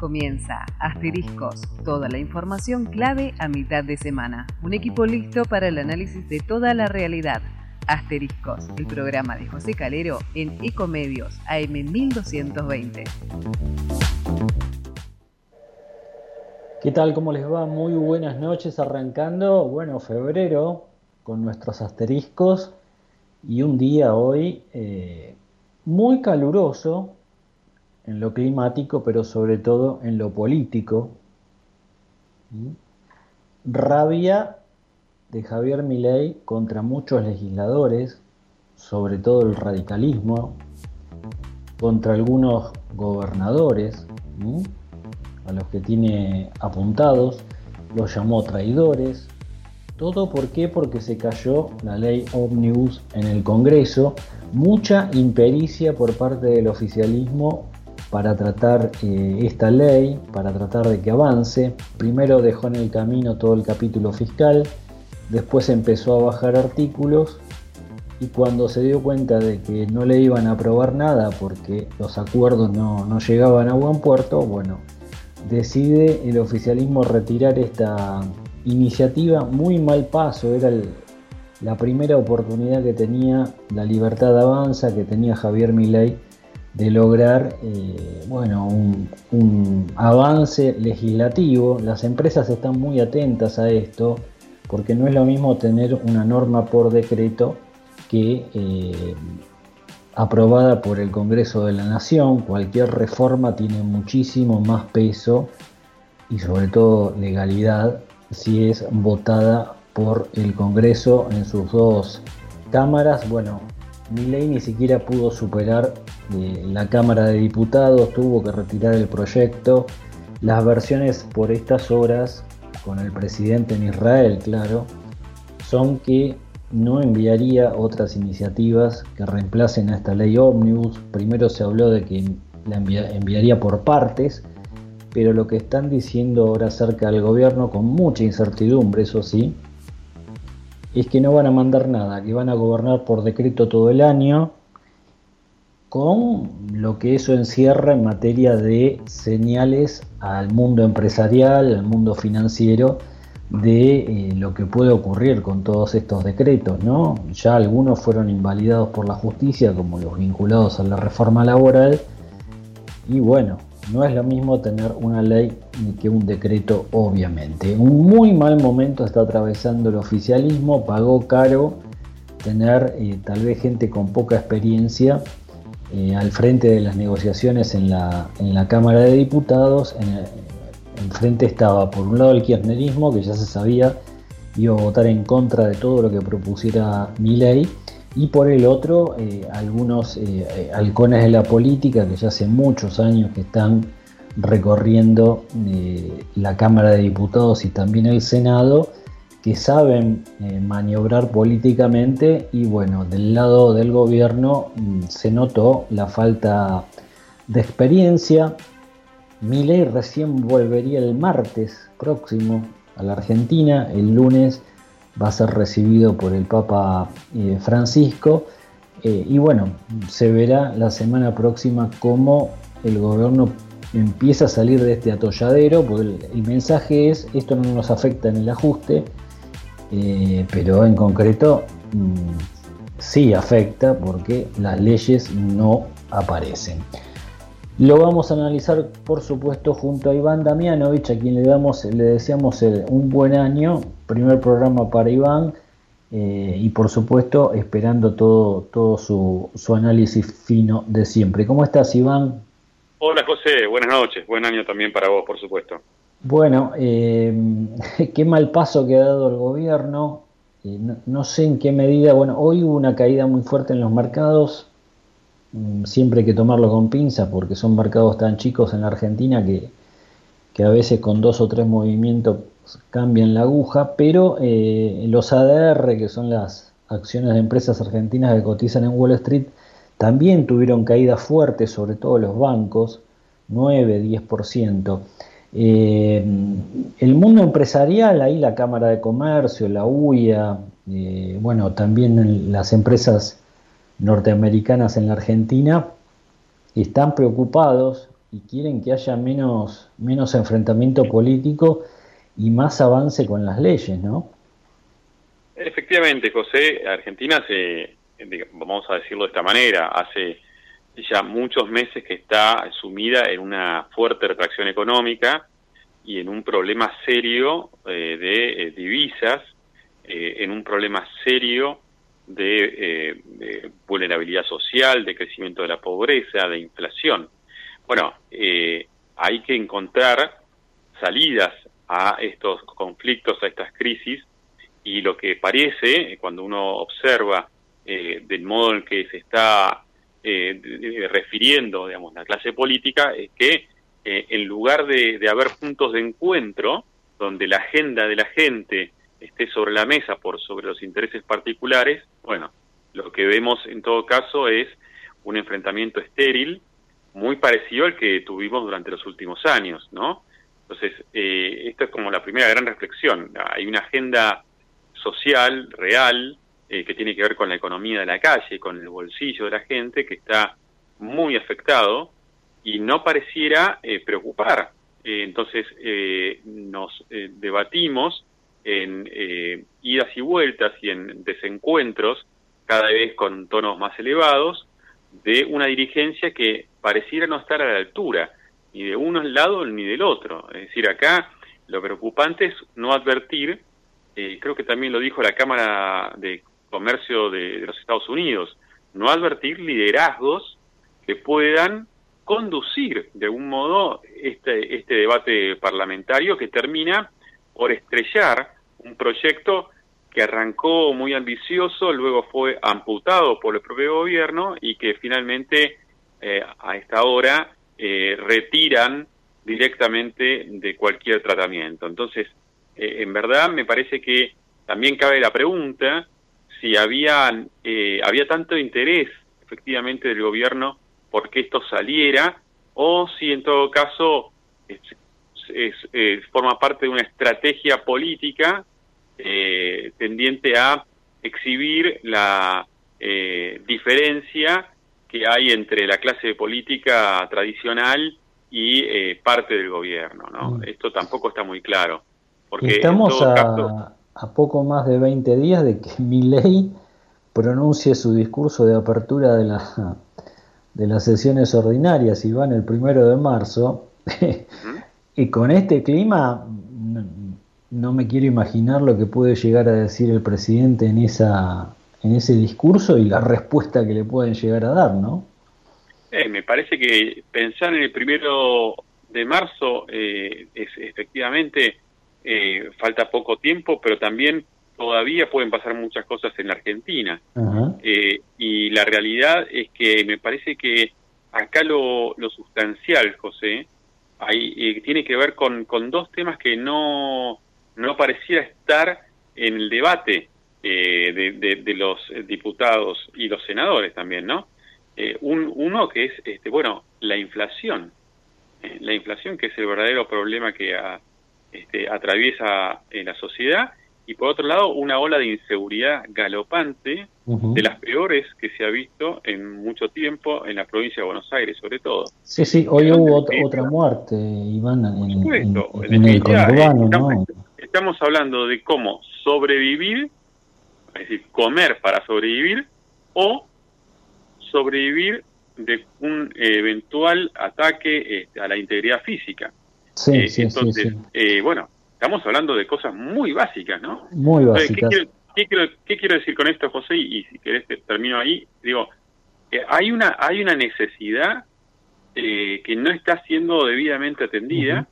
Comienza Asteriscos, toda la información clave a mitad de semana. Un equipo listo para el análisis de toda la realidad. Asteriscos, el programa de José Calero en Ecomedios AM 1220. ¿Qué tal? ¿Cómo les va? Muy buenas noches, arrancando, febrero con nuestros asteriscos y un día hoy muy caluroso en lo climático, pero sobre todo en lo político. Rabia de Javier Milei contra muchos legisladores, sobre todo el radicalismo, contra algunos gobernadores, a los que tiene apuntados, los llamó traidores. ¿Todo por qué? Porque se cayó la ley Ómnibus en el Congreso, mucha impericia por parte del oficialismo para tratar esta ley, para tratar de que avance. Primero dejó en el camino todo el capítulo fiscal, después empezó a bajar artículos y cuando se dio cuenta de que no le iban a aprobar nada porque los acuerdos no llegaban a buen puerto, decide el oficialismo retirar esta iniciativa. Muy mal paso, era la primera oportunidad que tenía la Libertad Avanza, que tenía Javier Milei, de lograr un avance legislativo. Las empresas están muy atentas a esto, porque no es lo mismo tener una norma por decreto que aprobada por el Congreso de la Nación. Cualquier reforma tiene muchísimo más peso y sobre todo legalidad si es votada por el Congreso en sus dos cámaras. Milei ni siquiera pudo superar la Cámara de Diputados, tuvo que retirar el proyecto. Las versiones por estas horas, con el presidente en Israel, claro, son que no enviaría otras iniciativas que reemplacen a esta ley Ómnibus. Primero se habló de que la enviaría por partes, pero lo que están diciendo ahora acerca del gobierno, con mucha incertidumbre, eso sí, es que no van a mandar nada, que van a gobernar por decreto todo el año, con lo que eso encierra en materia de señales al mundo empresarial, al mundo financiero, de lo que puede ocurrir con todos estos decretos, ¿no? Ya algunos fueron invalidados por la justicia, como los vinculados a la reforma laboral, y no es lo mismo tener una ley que un decreto, obviamente. Un muy mal momento está atravesando el oficialismo, pagó caro tener tal vez gente con poca experiencia al frente de las negociaciones en la Cámara de Diputados. Enfrente estaba por un lado el kirchnerismo, que ya se sabía iba a votar en contra de todo lo que propusiera Milei, y por el otro algunos halcones de la política que ya hace muchos años que están recorriendo la Cámara de Diputados y también el Senado, que saben maniobrar políticamente. Y del lado del gobierno se notó la falta de experiencia. Milei recién volvería el martes próximo a la Argentina. El lunes va a ser recibido por el Papa Francisco, se verá la semana próxima cómo el gobierno empieza a salir de este atolladero, porque el mensaje es: esto no nos afecta en el ajuste, pero en concreto sí afecta, porque las leyes no aparecen. Lo vamos a analizar, por supuesto, junto a Iván Damianovich, a quien le deseamos un buen año. Primer programa para Iván, y por supuesto esperando todo su análisis fino de siempre. ¿Cómo estás, Iván? Hola, José, buenas noches. Buen año también para vos, por supuesto. Qué mal paso que ha dado el gobierno. No sé en qué medida. Hoy hubo una caída muy fuerte en los mercados. Siempre hay que tomarlo con pinzas, porque son mercados tan chicos en la Argentina que a veces con 2 o 3 movimientos cambian la aguja, pero los ADR, que son las acciones de empresas argentinas que cotizan en Wall Street, también tuvieron caídas fuertes, sobre todo los bancos, 9-10%. El mundo empresarial, ahí la Cámara de Comercio, la UIA, también las empresas norteamericanas en la Argentina, están preocupados y quieren que haya menos enfrentamiento político y más avance con las leyes, ¿no? Efectivamente, José, Argentina vamos a decirlo de esta manera, hace ya muchos meses que está sumida en una fuerte retracción económica y en un problema serio de divisas, en un problema serio de vulnerabilidad social, de crecimiento de la pobreza, de inflación. Bueno, hay que encontrar salidas a estos conflictos, a estas crisis, y lo que parece, cuando uno observa del modo en que se está refiriendo, digamos, la clase política, es que en lugar de haber puntos de encuentro, donde la agenda de la gente esté sobre la mesa sobre los intereses particulares, bueno, lo que vemos en todo caso es un enfrentamiento estéril, muy parecido al que tuvimos durante los últimos años, ¿no? Entonces, esto es como la primera gran reflexión. Hay una agenda social, real, que tiene que ver con la economía de la calle, con el bolsillo de la gente, que está muy afectado y no pareciera preocupar. Entonces, nos debatimos en idas y vueltas y en desencuentros, cada vez con tonos más elevados, de una dirigencia que pareciera no estar a la altura, ni de uno lado ni del otro. Es decir, acá lo preocupante es no advertir, creo que también lo dijo la Cámara de Comercio de los Estados Unidos, no advertir liderazgos que puedan conducir de algún modo este debate parlamentario que termina por estrellar un proyecto que arrancó muy ambicioso, luego fue amputado por el propio gobierno y que finalmente a esta hora retiran directamente de cualquier tratamiento. Entonces, en verdad me parece que también cabe la pregunta si había tanto interés efectivamente del gobierno por que esto saliera, o si en todo caso forma parte de una estrategia política tendiente a exhibir la diferencia que hay entre la clase política tradicional y parte del gobierno, ¿no? Esto tampoco está muy claro. Porque estamos a poco más de 20 días de que Milei pronuncie su discurso de apertura de las sesiones ordinarias, y van el 1 de marzo, y con este clima no me quiero imaginar lo que puede llegar a decir el presidente en ese discurso y la respuesta que le pueden llegar a dar, ¿no? Me parece que pensar en el 1 de marzo es efectivamente falta poco tiempo, pero también todavía pueden pasar muchas cosas en la Argentina. Y la realidad es que me parece que acá lo sustancial, José, tiene que ver con dos temas que no pareciera estar en el debate de los diputados y los senadores también, ¿no? Uno que es, la inflación. La inflación, que es el verdadero problema que atraviesa la sociedad, y por otro lado una ola de inseguridad galopante, de las peores que se ha visto en mucho tiempo en la provincia de Buenos Aires, sobre todo. Sí, hoy hubo otra muerte, Iván, en el conurbano, ¿no? Estamos hablando de cómo sobrevivir, es decir, comer para sobrevivir, o sobrevivir de un eventual ataque a la integridad física. Entonces, bueno, estamos hablando de cosas muy básicas, ¿no? Muy básicas. Entonces, ¿qué quiero decir con esto, José? Y si querés termino ahí. Digo, hay una necesidad que no está siendo debidamente atendida,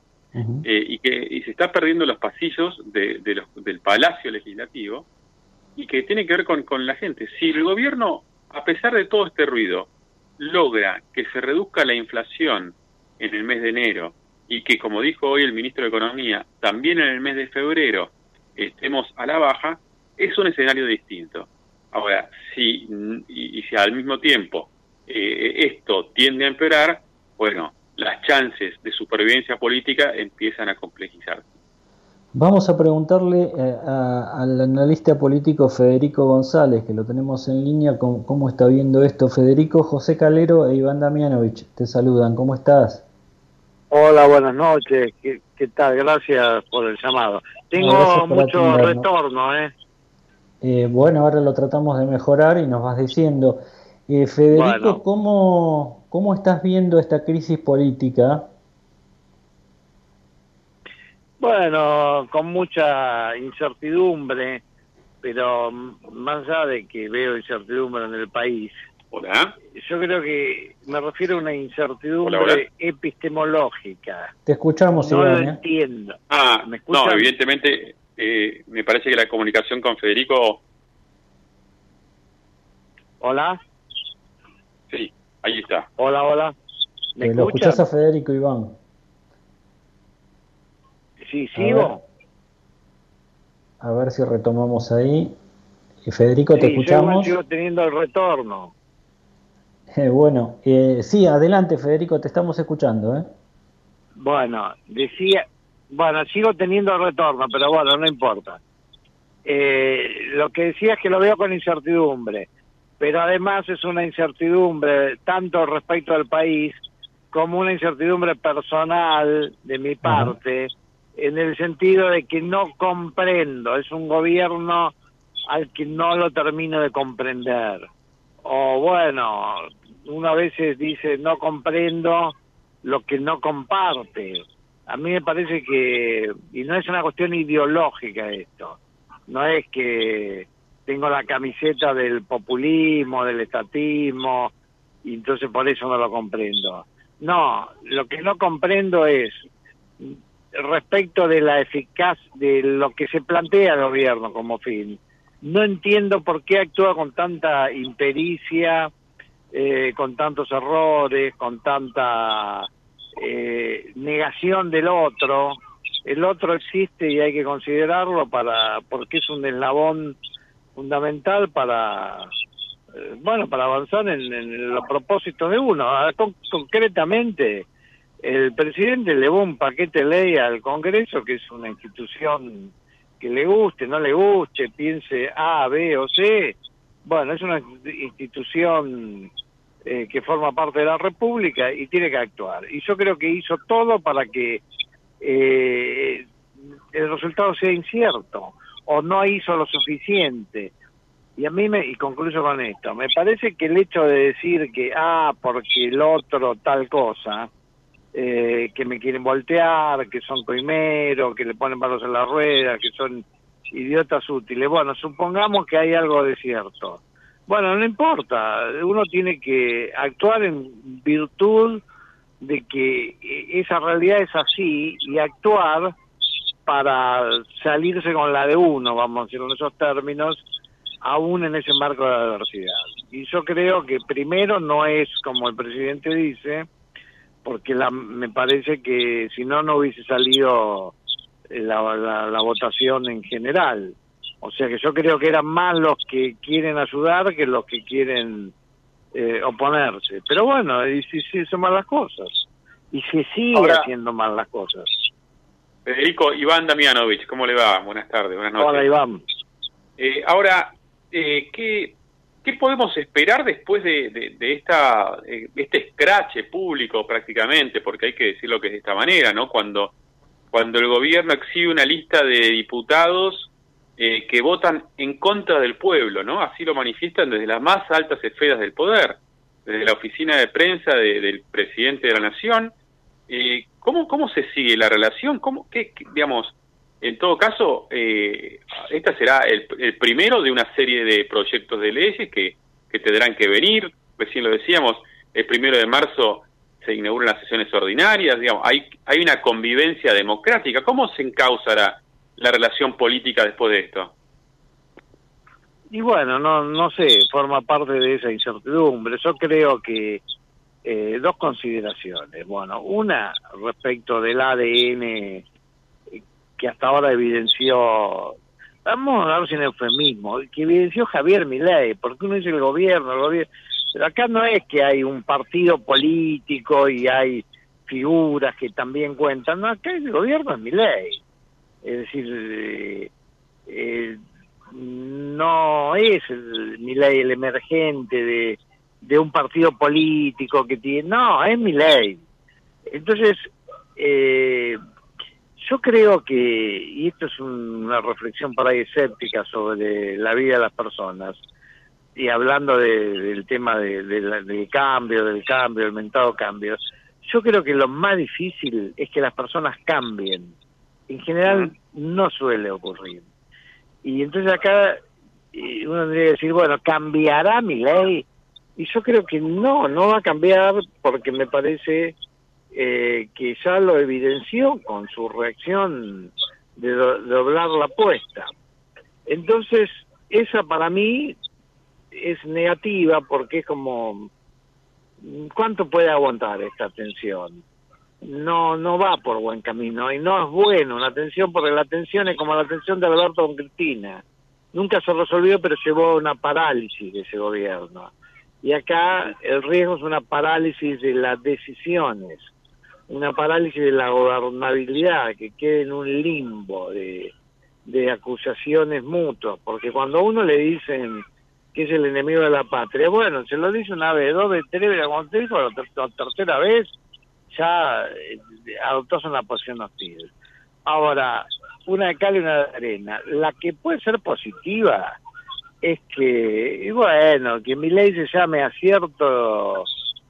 y se está perdiendo los pasillos del Palacio Legislativo, y que tiene que ver con la gente. Si el gobierno, a pesar de todo este ruido, logra que se reduzca la inflación en el mes de enero, y que, como dijo hoy el ministro de Economía, también en el mes de febrero estemos a la baja, es un escenario distinto. Ahora, si al mismo tiempo esto tiende a empeorar, bueno, las chances de supervivencia política empiezan a complejizarse. Vamos a preguntarle al analista político Federico González, que lo tenemos en línea, cómo está viendo esto. Federico, José Calero e Iván Damianovich te saludan. ¿Cómo estás? Hola, buenas noches. ¿Qué tal? Gracias por el llamado. Tengo mucho retorno, Bueno, ahora lo tratamos de mejorar y nos vas diciendo. Federico, Bueno, ¿cómo estás viendo esta crisis política? bueno, con mucha incertidumbre, pero más allá de que veo incertidumbre en el país, Hola. yo creo que me refiero a una Hola, incertidumbre epistemológica. Te escuchamos, No lo Iván, ¿eh? entiendo. ¿Me No, escuchan? evidentemente me parece que la comunicación con Federico, Hola, sí, ahí está. hola. ¿Me ¿Lo escuchás a escuchan? Federico, Iván? Sí, A sigo. ver si retomamos ahí. Federico, ¿te Sí, yo igual escuchamos? sigo teniendo el retorno. Bueno, sí, adelante, Federico, te estamos escuchando, ¿eh? Bueno, sigo teniendo el retorno, pero bueno, no importa. Lo que decía es que lo veo con incertidumbre, pero además es una incertidumbre tanto respecto al país como una incertidumbre personal de mi Ajá. parte, en el sentido de que no comprendo, es un gobierno al que no lo termino de comprender. O bueno, uno a veces dice no comprendo lo que no comparte. A mí me parece que, y no es una cuestión ideológica esto, no es que tengo la camiseta del populismo, del estatismo, y entonces por eso no lo comprendo. No, lo que no comprendo es respecto de la eficacia de lo que se plantea el gobierno como fin. No entiendo por qué actúa con tanta impericia, con tantos errores, con tanta negación del otro. El otro existe y hay que considerarlo porque es un eslabón fundamental para avanzar en los propósitos de uno. Concretamente, el presidente elevó un paquete de ley al Congreso, que es una institución que le guste, no le guste, piense A, B o C. Bueno, es una institución que forma parte de la República y tiene que actuar. Y yo creo que hizo todo para que el resultado sea incierto, o no hizo lo suficiente. Y y concluyo con esto, me parece que el hecho de decir que, porque el otro tal cosa, que me quieren voltear, que son coimeros, que le ponen palos en la rueda, que son idiotas útiles. Bueno, supongamos que hay algo de cierto. Bueno, no importa, uno tiene que actuar en virtud de que esa realidad es así y actuar para salirse con la de uno, vamos a decir en esos términos, aún en ese marco de adversidad. Y yo creo que primero no es como el presidente dice, porque me parece que si no, no hubiese salido la votación en general. O sea que yo creo que eran más los que quieren ayudar que los que quieren oponerse. Pero bueno, y si hizo mal las cosas. Y se sigue Ahora, haciendo mal las cosas. Federico, Iván Damianovich, ¿cómo le va? Buenas tardes, buenas noches. Hola, Iván. Ahora, ¿qué podemos esperar después de este escrache público prácticamente? Porque hay que decirlo que es de esta manera, ¿no? Cuando el gobierno exhibe una lista de diputados que votan en contra del pueblo, ¿no? Así lo manifiestan desde las más altas esferas del poder, desde la oficina de prensa del presidente de la Nación. ¿Cómo se sigue la relación? Digamos, en todo caso, esta será el primero de una serie de proyectos de leyes que tendrán que venir. Recién lo decíamos, el 1 de marzo se inauguran las sesiones ordinarias. Digamos, hay una convivencia democrática. ¿Cómo se encauzará la relación política después de esto? Y bueno, no sé, forma parte de esa incertidumbre. Yo creo que dos consideraciones. Bueno, una respecto del ADN que hasta ahora evidenció, vamos a hablar sin eufemismo, que evidenció Javier Milei, porque uno dice el gobierno, pero acá no es que hay un partido político y hay figuras que también cuentan, no, acá el gobierno es Milei. Es decir, no es Milei el emergente de un partido político que tiene, no, es Milei. Entonces, Yo creo que, y esto es una reflexión por ahí escéptica sobre la vida de las personas, y hablando del tema del cambio, el mentado cambio, yo creo que lo más difícil es que las personas cambien. En general no suele ocurrir. Y entonces acá uno tendría que decir, bueno, ¿cambiará Milei? Y yo creo que no va a cambiar, porque me parece que ya lo evidenció con su reacción de doblar la apuesta. Entonces, esa para mí es negativa, porque es como, ¿cuánto puede aguantar esta tensión? No va por buen camino, y no es bueno una tensión, porque la tensión es como la tensión de Alberto con Cristina. Nunca se resolvió, pero llevó a una parálisis de ese gobierno. Y acá el riesgo es una parálisis de las decisiones, una parálisis de la gobernabilidad, que quede en un limbo de acusaciones mutuas, porque cuando a uno le dicen que es el enemigo de la patria, bueno, se lo dice una vez, 2 veces, 3 veces, cuando te dijo la tercera vez, ya adoptás una posición hostil. Ahora, una de cal y una de arena. La que puede ser positiva es que, y bueno, que Milei se llame a cierto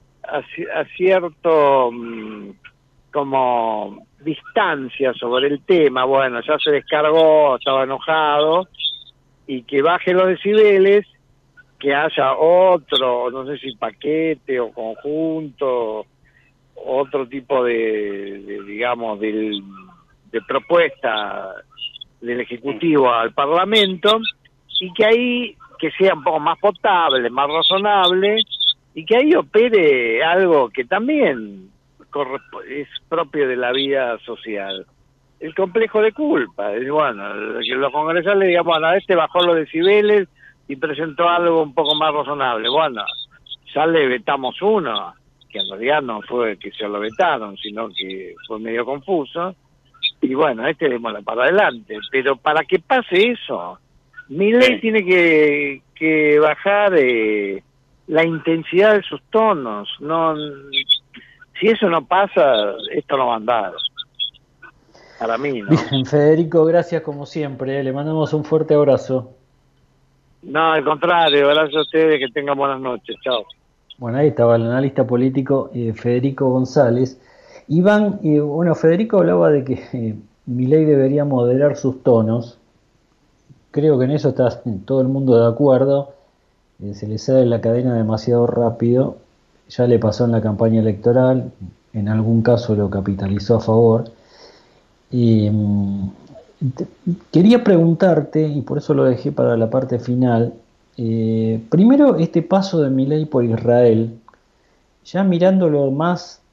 como distancia sobre el tema. Bueno, ya se descargó, estaba enojado, y que baje los decibeles, que haya otro, no sé si paquete o conjunto, otro tipo digamos, de propuesta del Ejecutivo al Parlamento, y que ahí que sea un poco más potable, más razonable, y que ahí opere algo que también es propio de la vida social, el complejo de culpa. Y bueno, que los congresales digan, bueno, bajó los decibeles y presentó algo un poco más razonable. Bueno, ya le vetamos uno, que en realidad no fue que se lo vetaron, sino que fue medio confuso, y bueno, démosla para adelante. Pero para que pase eso, Milei tiene que bajar la intensidad de sus tonos. No, si eso no pasa, esto no va a andar. Para mí, ¿no? Bien, Federico, gracias como siempre. Le mandamos un fuerte abrazo. No, al contrario, gracias a ustedes, que tengan buenas noches. Chao. Bueno, ahí estaba el analista político Federico González. Iván, bueno, Federico hablaba de que Milei debería moderar sus tonos. Creo que en eso está todo el mundo de acuerdo. Se le sale la cadena demasiado rápido. Ya le pasó en la campaña electoral. En algún caso lo capitalizó a favor. Quería preguntarte, y por eso lo dejé para la parte final, primero este paso de Milei por Israel, ya mirándolo más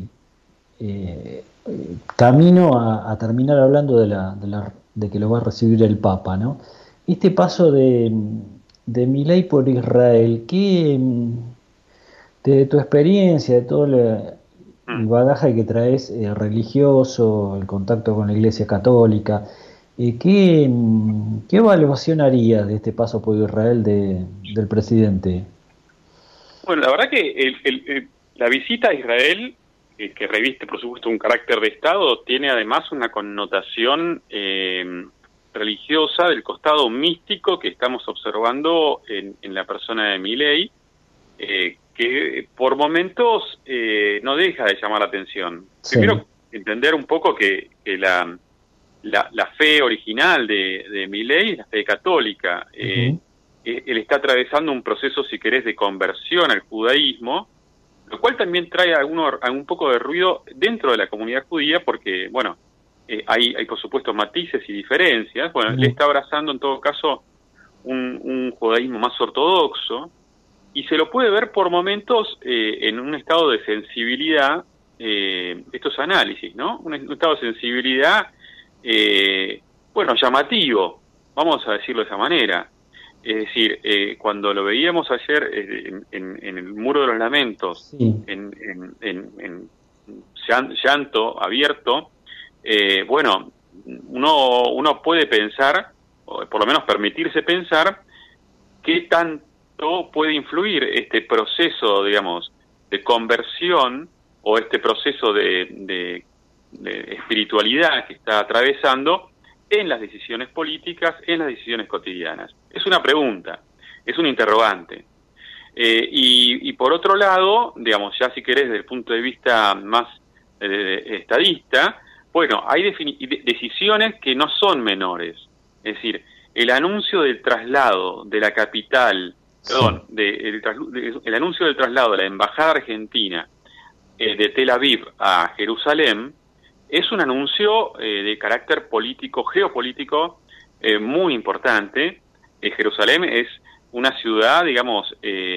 camino a terminar hablando de que lo va a recibir el Papa, ¿no? Este paso de Milei por Israel, ¿qué, de tu experiencia, de todo el bagaje que traes religioso, el contacto con la Iglesia Católica, ¿qué evaluación harías de este paso por Israel del presidente? Bueno, la verdad que la visita a Israel, que reviste por supuesto un carácter de Estado, tiene además una connotación religiosa del costado místico que estamos observando en la persona de Milei, que por momentos no deja de llamar la atención. Sí. Primero, entender un poco que la fe original de Milei es la fe católica. Él está atravesando un proceso, si querés, de conversión al judaísmo, lo cual también trae algún poco de ruido dentro de la comunidad judía, porque, bueno, hay por supuesto matices y diferencias. Bueno, le está abrazando en todo caso un judaísmo más ortodoxo, y se lo puede ver por momentos en un estado de sensibilidad, estos análisis, ¿no? Un estado de sensibilidad, bueno, llamativo, vamos a decirlo de esa manera. Es decir, cuando lo veíamos ayer en el Muro de los Lamentos, sí, en llanto abierto, bueno, uno puede pensar, o por lo menos permitirse pensar, qué tanto puede influir este proceso, digamos, de conversión, o este proceso de espiritualidad que está atravesando en las decisiones políticas, en las decisiones cotidianas. Es una pregunta, es un interrogante. Y por otro lado, digamos, ya si querés desde el punto de vista más estadista, bueno, hay decisiones que no son menores. Es decir, el anuncio del traslado de la capital, el anuncio del traslado de la embajada argentina de Tel Aviv a Jerusalén es un anuncio de carácter político, geopolítico muy importante. Jerusalén es una ciudad, digamos,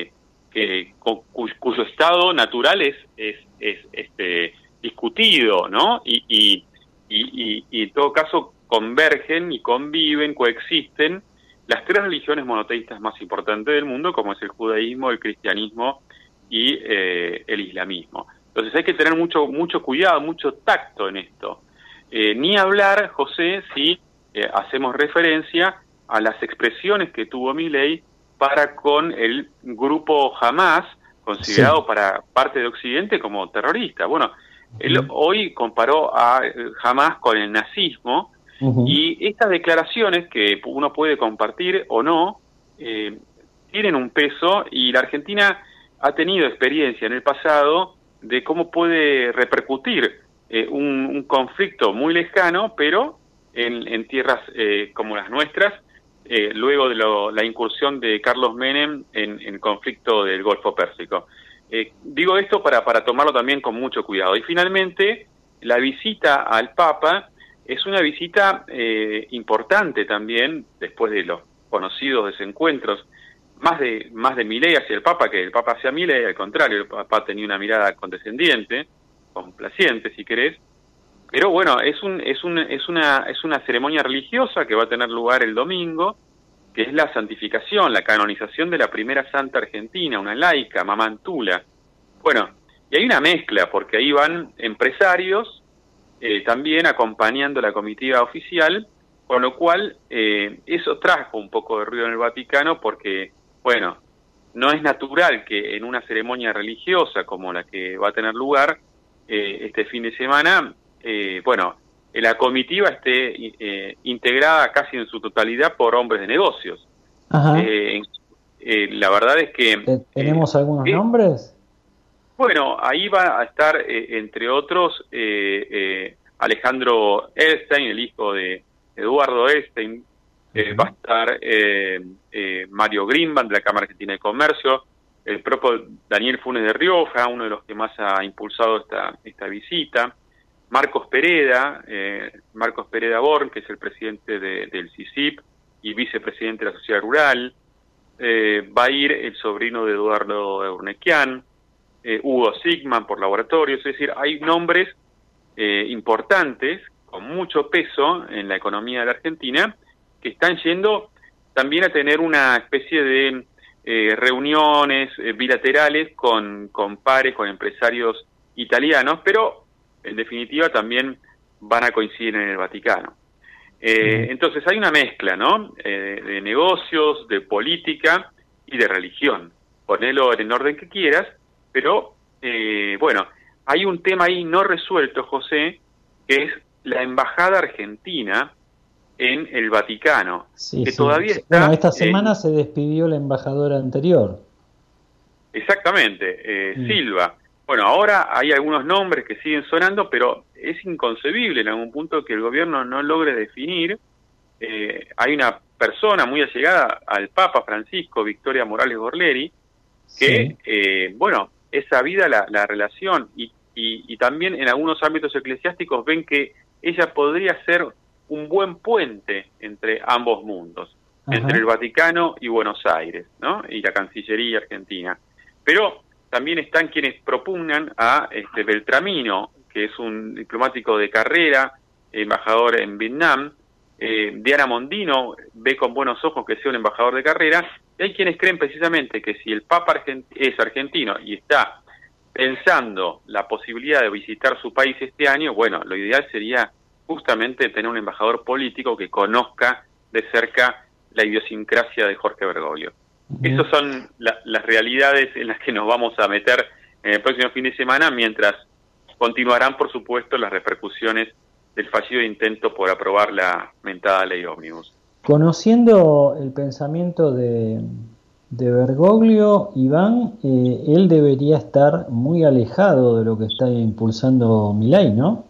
cuyo estado natural es discutido, ¿no? Y en todo caso convergen y conviven, coexisten las tres religiones monoteístas más importantes del mundo, como es el judaísmo, el cristianismo y el islamismo. Entonces hay que tener mucho cuidado, mucho tacto en esto. Ni hablar, José, si hacemos referencia a las expresiones que tuvo Milei para con el grupo Hamas, considerado para parte de Occidente como terrorista. Bueno, él hoy comparó a Hamas con el nazismo, y estas declaraciones, que uno puede compartir o no, tienen un peso, y la Argentina ha tenido experiencia en el pasado de cómo puede repercutir un conflicto muy lejano, pero en tierras como las nuestras, luego de la incursión de Carlos Menem en el conflicto del Golfo Pérsico. Digo esto para tomarlo también con mucho cuidado. Y finalmente, la visita al Papa es una visita importante también, después de los conocidos desencuentros, más de Milei hacia el Papa que el Papa hacia Milei. Al contrario, el Papa tenía una mirada condescendiente, complaciente si querés, pero bueno, es una ceremonia religiosa que va a tener lugar el domingo, que es la santificación, la canonización de la primera santa argentina, una laica, Mamá Tula. Bueno, y hay una mezcla, porque ahí van empresarios también acompañando la comitiva oficial, con lo cual eso trajo un poco de ruido en el Vaticano, porque, bueno, no es natural que en una ceremonia religiosa como la que va a tener lugar este fin de semana, la comitiva esté integrada casi en su totalidad por hombres de negocios. La verdad es que... ¿Tenemos algunos nombres? Bueno, ahí va a estar, entre otros, Alejandro Elstein, el hijo de Eduardo Elstein. Va a estar Mario Greenbank, de la Cámara Argentina de Comercio, el propio Daniel Funes de Rioja, uno de los que más ha impulsado esta visita, Marcos Pereda Born, que es el presidente del CICIP y vicepresidente de la Sociedad Rural. Va a ir el sobrino de Eduardo Eurnequian, Hugo Sigman por laboratorios. Es decir, hay nombres importantes con mucho peso en la economía de la Argentina que están yendo también a tener una especie de reuniones bilaterales con pares, con empresarios italianos, pero en definitiva también van a coincidir en el Vaticano. Entonces hay una mezcla, ¿no? De negocios, de política y de religión. Ponelo en el orden que quieras, pero hay un tema ahí no resuelto, José, que es la embajada argentina en el Vaticano, que todavía está... Bueno, esta semana se despidió la embajadora anterior. Exactamente, Silva. Bueno, ahora hay algunos nombres que siguen sonando, pero es inconcebible en algún punto que el gobierno no logre definir. Hay una persona muy allegada al Papa Francisco, Victoria Morales Borleri, que, es sabida la relación y también en algunos ámbitos eclesiásticos ven que ella podría ser un buen puente entre ambos mundos, entre el Vaticano y Buenos Aires, ¿no? Y la Cancillería argentina. Pero también están quienes propugnan a Beltramino, que es un diplomático de carrera, embajador en Vietnam. Diana Mondino ve con buenos ojos que sea un embajador de carrera, y hay quienes creen precisamente que si el Papa es argentino y está pensando la posibilidad de visitar su país este año, bueno, lo ideal sería justamente tener un embajador político que conozca de cerca la idiosincrasia de Jorge Bergoglio. Esas son las realidades en las que nos vamos a meter en el próximo fin de semana, mientras continuarán, por supuesto, las repercusiones del fallido intento por aprobar la mentada ley ómnibus. Conociendo el pensamiento de Bergoglio, Iván, él debería estar muy alejado de lo que está impulsando Milei, ¿no?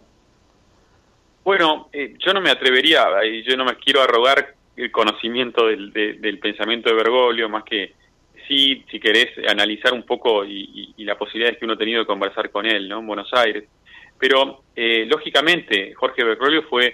Bueno, yo no me atrevería, yo no me quiero arrogar el conocimiento del pensamiento de Bergoglio, más que sí, si querés analizar un poco y las posibilidades que uno ha tenido de conversar con él, ¿no? En Buenos Aires. Pero, lógicamente, Jorge Bergoglio fue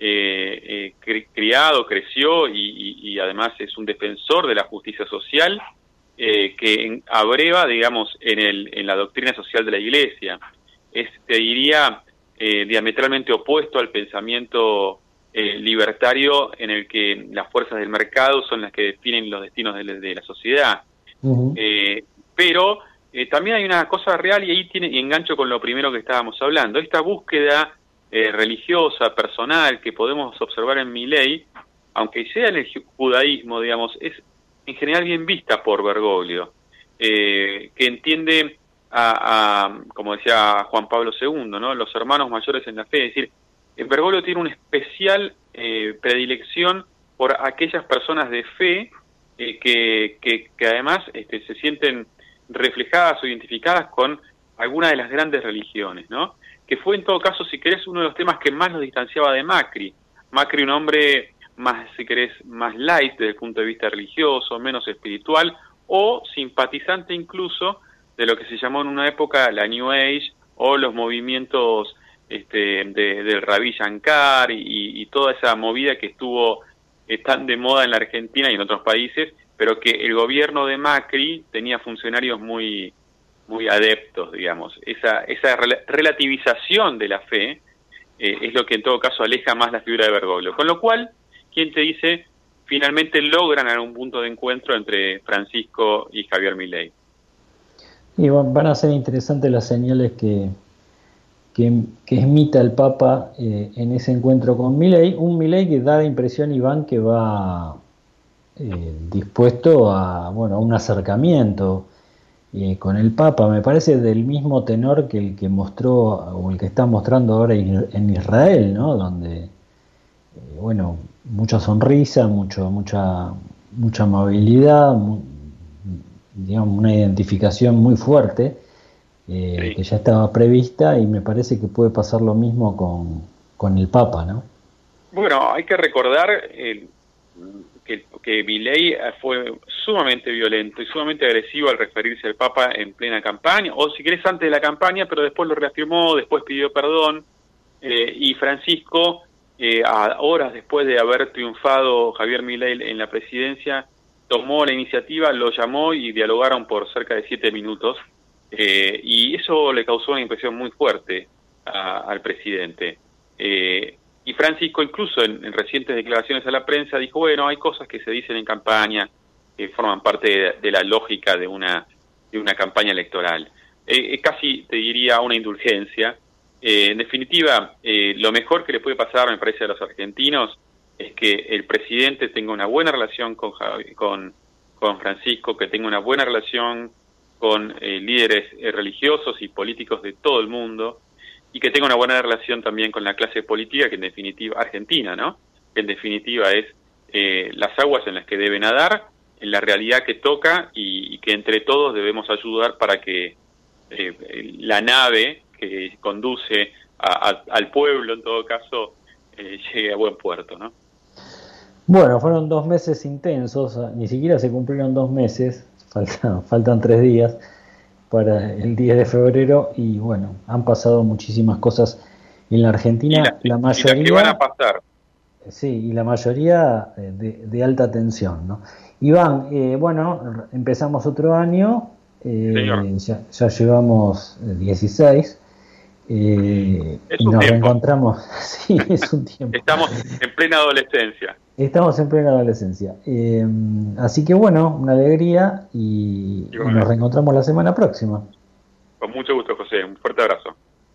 criado, creció y además es un defensor de la justicia social que abreva, digamos, en la doctrina social de la Iglesia. Te diría, diametralmente opuesto al pensamiento libertario en el que las fuerzas del mercado son las que definen los destinos de la sociedad. Uh-huh. Pero también hay una cosa real, y ahí engancho con lo primero que estábamos hablando, esta búsqueda religiosa, personal, que podemos observar en Milei, aunque sea en el judaísmo, digamos, es en general bien vista por Bergoglio, que entiende como decía Juan Pablo II, ¿no? Los hermanos mayores en la fe. Es decir, Bergoglio tiene una especial predilección por aquellas personas de fe que además se sienten reflejadas o identificadas con alguna de las grandes religiones, ¿no? Que fue en todo caso, si querés, uno de los temas que más nos distanciaba de Macri. Macri, un hombre más, si querés, más light desde el punto de vista religioso, menos espiritual, o simpatizante incluso de lo que se llamó en una época la New Age, o los movimientos del Ravi Shankar y toda esa movida que estuvo tan de moda en la Argentina y en otros países, pero que el gobierno de Macri tenía funcionarios muy adeptos, digamos. Esa relativización de la fe es lo que en todo caso aleja más la figura de Bergoglio. Con lo cual, ¿quién te dice? Finalmente logran algún punto de encuentro entre Francisco y Javier Milei. Y van a ser interesantes las señales que emita el Papa en ese encuentro con Milei. Un Milei que da la impresión, Iván, que va dispuesto a un acercamiento con el Papa. Me parece del mismo tenor que el que mostró o el que está mostrando ahora en Israel, ¿no? Donde mucha sonrisa, mucha amabilidad, digamos una identificación muy fuerte que ya estaba prevista, y me parece que puede pasar lo mismo con el Papa, ¿no? Bueno, hay que recordar que Milei fue sumamente violento y sumamente agresivo al referirse al Papa en plena campaña, o si querés antes de la campaña, pero después lo reafirmó, después pidió perdón, y Francisco, a horas después de haber triunfado Javier Milei en la presidencia, tomó la iniciativa, lo llamó y dialogaron por cerca de 7 minutos, y eso le causó una impresión muy fuerte al presidente. Y Francisco, incluso en recientes declaraciones a la prensa, dijo, hay cosas que se dicen en campaña que forman parte de la lógica de una campaña electoral. Casi te diría una indulgencia. En definitiva, lo mejor que le puede pasar, me parece, a los argentinos es que el presidente tenga una buena relación con Francisco, que tenga una buena relación con líderes religiosos y políticos de todo el mundo, y que tenga una buena relación también con la clase política, que en definitiva, argentina, ¿no? Que en definitiva es las aguas en las que debe nadar, en la realidad que toca, y que entre todos debemos ayudar para que la nave que conduce al pueblo, en todo caso, llegue a buen puerto, ¿no? Bueno, fueron 2 meses intensos, ni siquiera se cumplieron 2 meses, faltan 3 días para el 10 de febrero, y han pasado muchísimas cosas en la Argentina, la mayoría, y las que van a pasar. Sí, y la mayoría de alta tensión, ¿no? Iván, empezamos otro año, ya llevamos 16, y nos reencontramos. Sí, es un tiempo. Estamos en plena adolescencia. Así que una alegría, y nos reencontramos la semana próxima. Con mucho gusto, José. Un fuerte abrazo.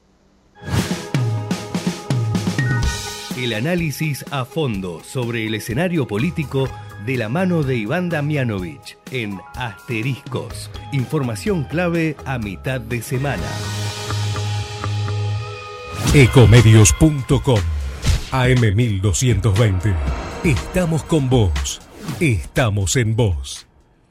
El análisis a fondo sobre el escenario político de la mano de Iván Damianovich en Asteriscos. Información clave a mitad de semana. Ecomedios.com AM1220. Estamos con vos. Estamos en vos.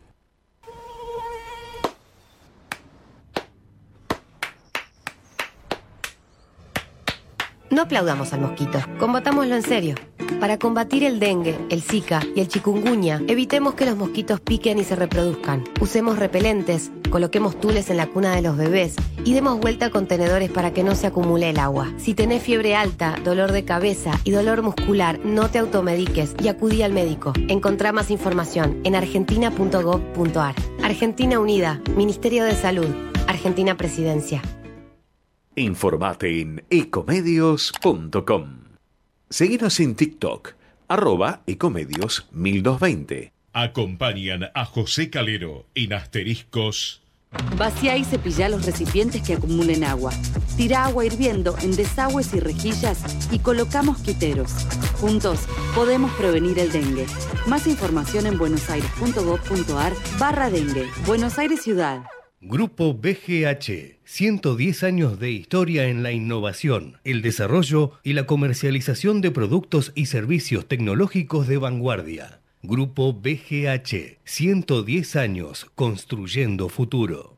No aplaudamos al mosquito, combatámoslo en serio. Para combatir el dengue, el zika y el chikungunya, evitemos que los mosquitos piquen y se reproduzcan. Usemos repelentes, coloquemos tules en la cuna de los bebés y demos vuelta a contenedores para que no se acumule el agua. Si tenés fiebre alta, dolor de cabeza y dolor muscular, no te automediques y acudí al médico. Encontrá más información en argentina.gov.ar. Argentina Unida, Ministerio de Salud, Argentina Presidencia. Informate en ecomedios.com. Seguinos en TikTok, @ecomedios1220. Acompañan a José Calero en Asteriscos. Vacía y cepillá los recipientes que acumulen agua. Tira agua hirviendo en desagües y rejillas y coloca mosquiteros. Juntos podemos prevenir el dengue. Más información en buenosaires.gov.ar/dengue. Buenos Aires Ciudad. Grupo BGH, 110 años de historia en la innovación, el desarrollo y la comercialización de productos y servicios tecnológicos de vanguardia. Grupo BGH, 110 años construyendo futuro.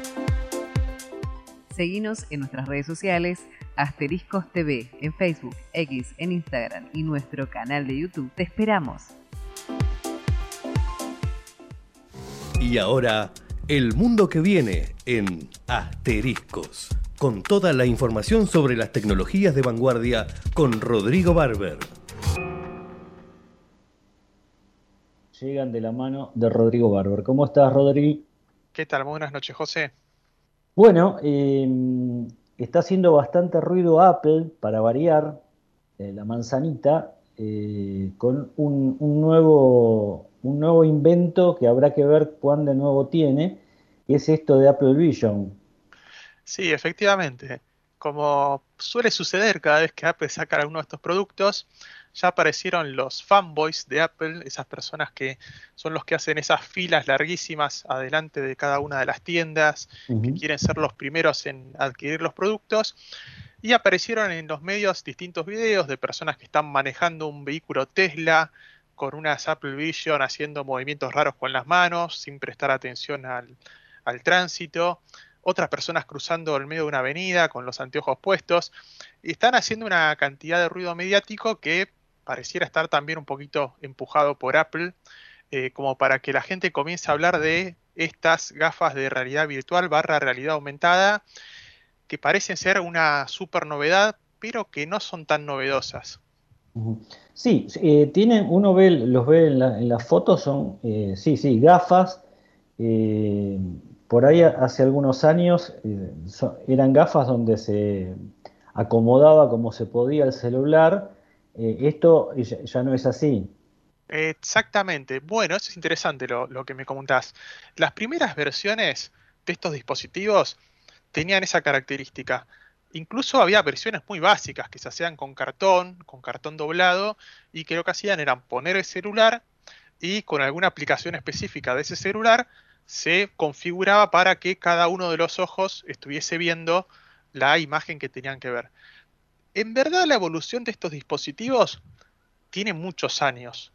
Seguinos en nuestras redes sociales, Asteriscos TV, en Facebook, X, en Instagram y nuestro canal de YouTube. Te esperamos. Y ahora, el mundo que viene en Asteriscos, con toda la información sobre las tecnologías de vanguardia con Rodrigo Barber. Llegan de la mano de Rodrigo Barber. ¿Cómo estás, Rodri? ¿Qué tal? Muy buenas noches, José. Bueno, está haciendo bastante ruido Apple, para variar, la manzanita, con un nuevo invento que habrá que ver cuán de nuevo tiene, y es esto de Apple Vision. Sí, efectivamente. Como suele suceder cada vez que Apple saca alguno de estos productos, ya aparecieron los fanboys de Apple, esas personas que son los que hacen esas filas larguísimas adelante de cada una de las tiendas, que quieren ser los primeros en adquirir los productos, y aparecieron en los medios distintos videos de personas que están manejando un vehículo Tesla con unas Apple Vision haciendo movimientos raros con las manos, sin prestar atención al tránsito, otras personas cruzando el medio de una avenida con los anteojos puestos, y están haciendo una cantidad de ruido mediático que pareciera estar también un poquito empujado por Apple, como para que la gente comience a hablar de estas gafas de realidad virtual / realidad aumentada, que parecen ser una super novedad, pero que no son tan novedosas. Sí, tienen, los ve en las fotos, son, sí, gafas. Por ahí hace algunos años eran gafas donde se acomodaba como se podía el celular. Esto ya no es así. Exactamente. Bueno, eso es interesante lo que me comentás. Las primeras versiones de estos dispositivos tenían esa característica. Incluso había versiones muy básicas que se hacían con cartón doblado, y que lo que hacían era poner el celular y con alguna aplicación específica de ese celular se configuraba para que cada uno de los ojos estuviese viendo la imagen que tenían que ver. En verdad, la evolución de estos dispositivos tiene muchos años.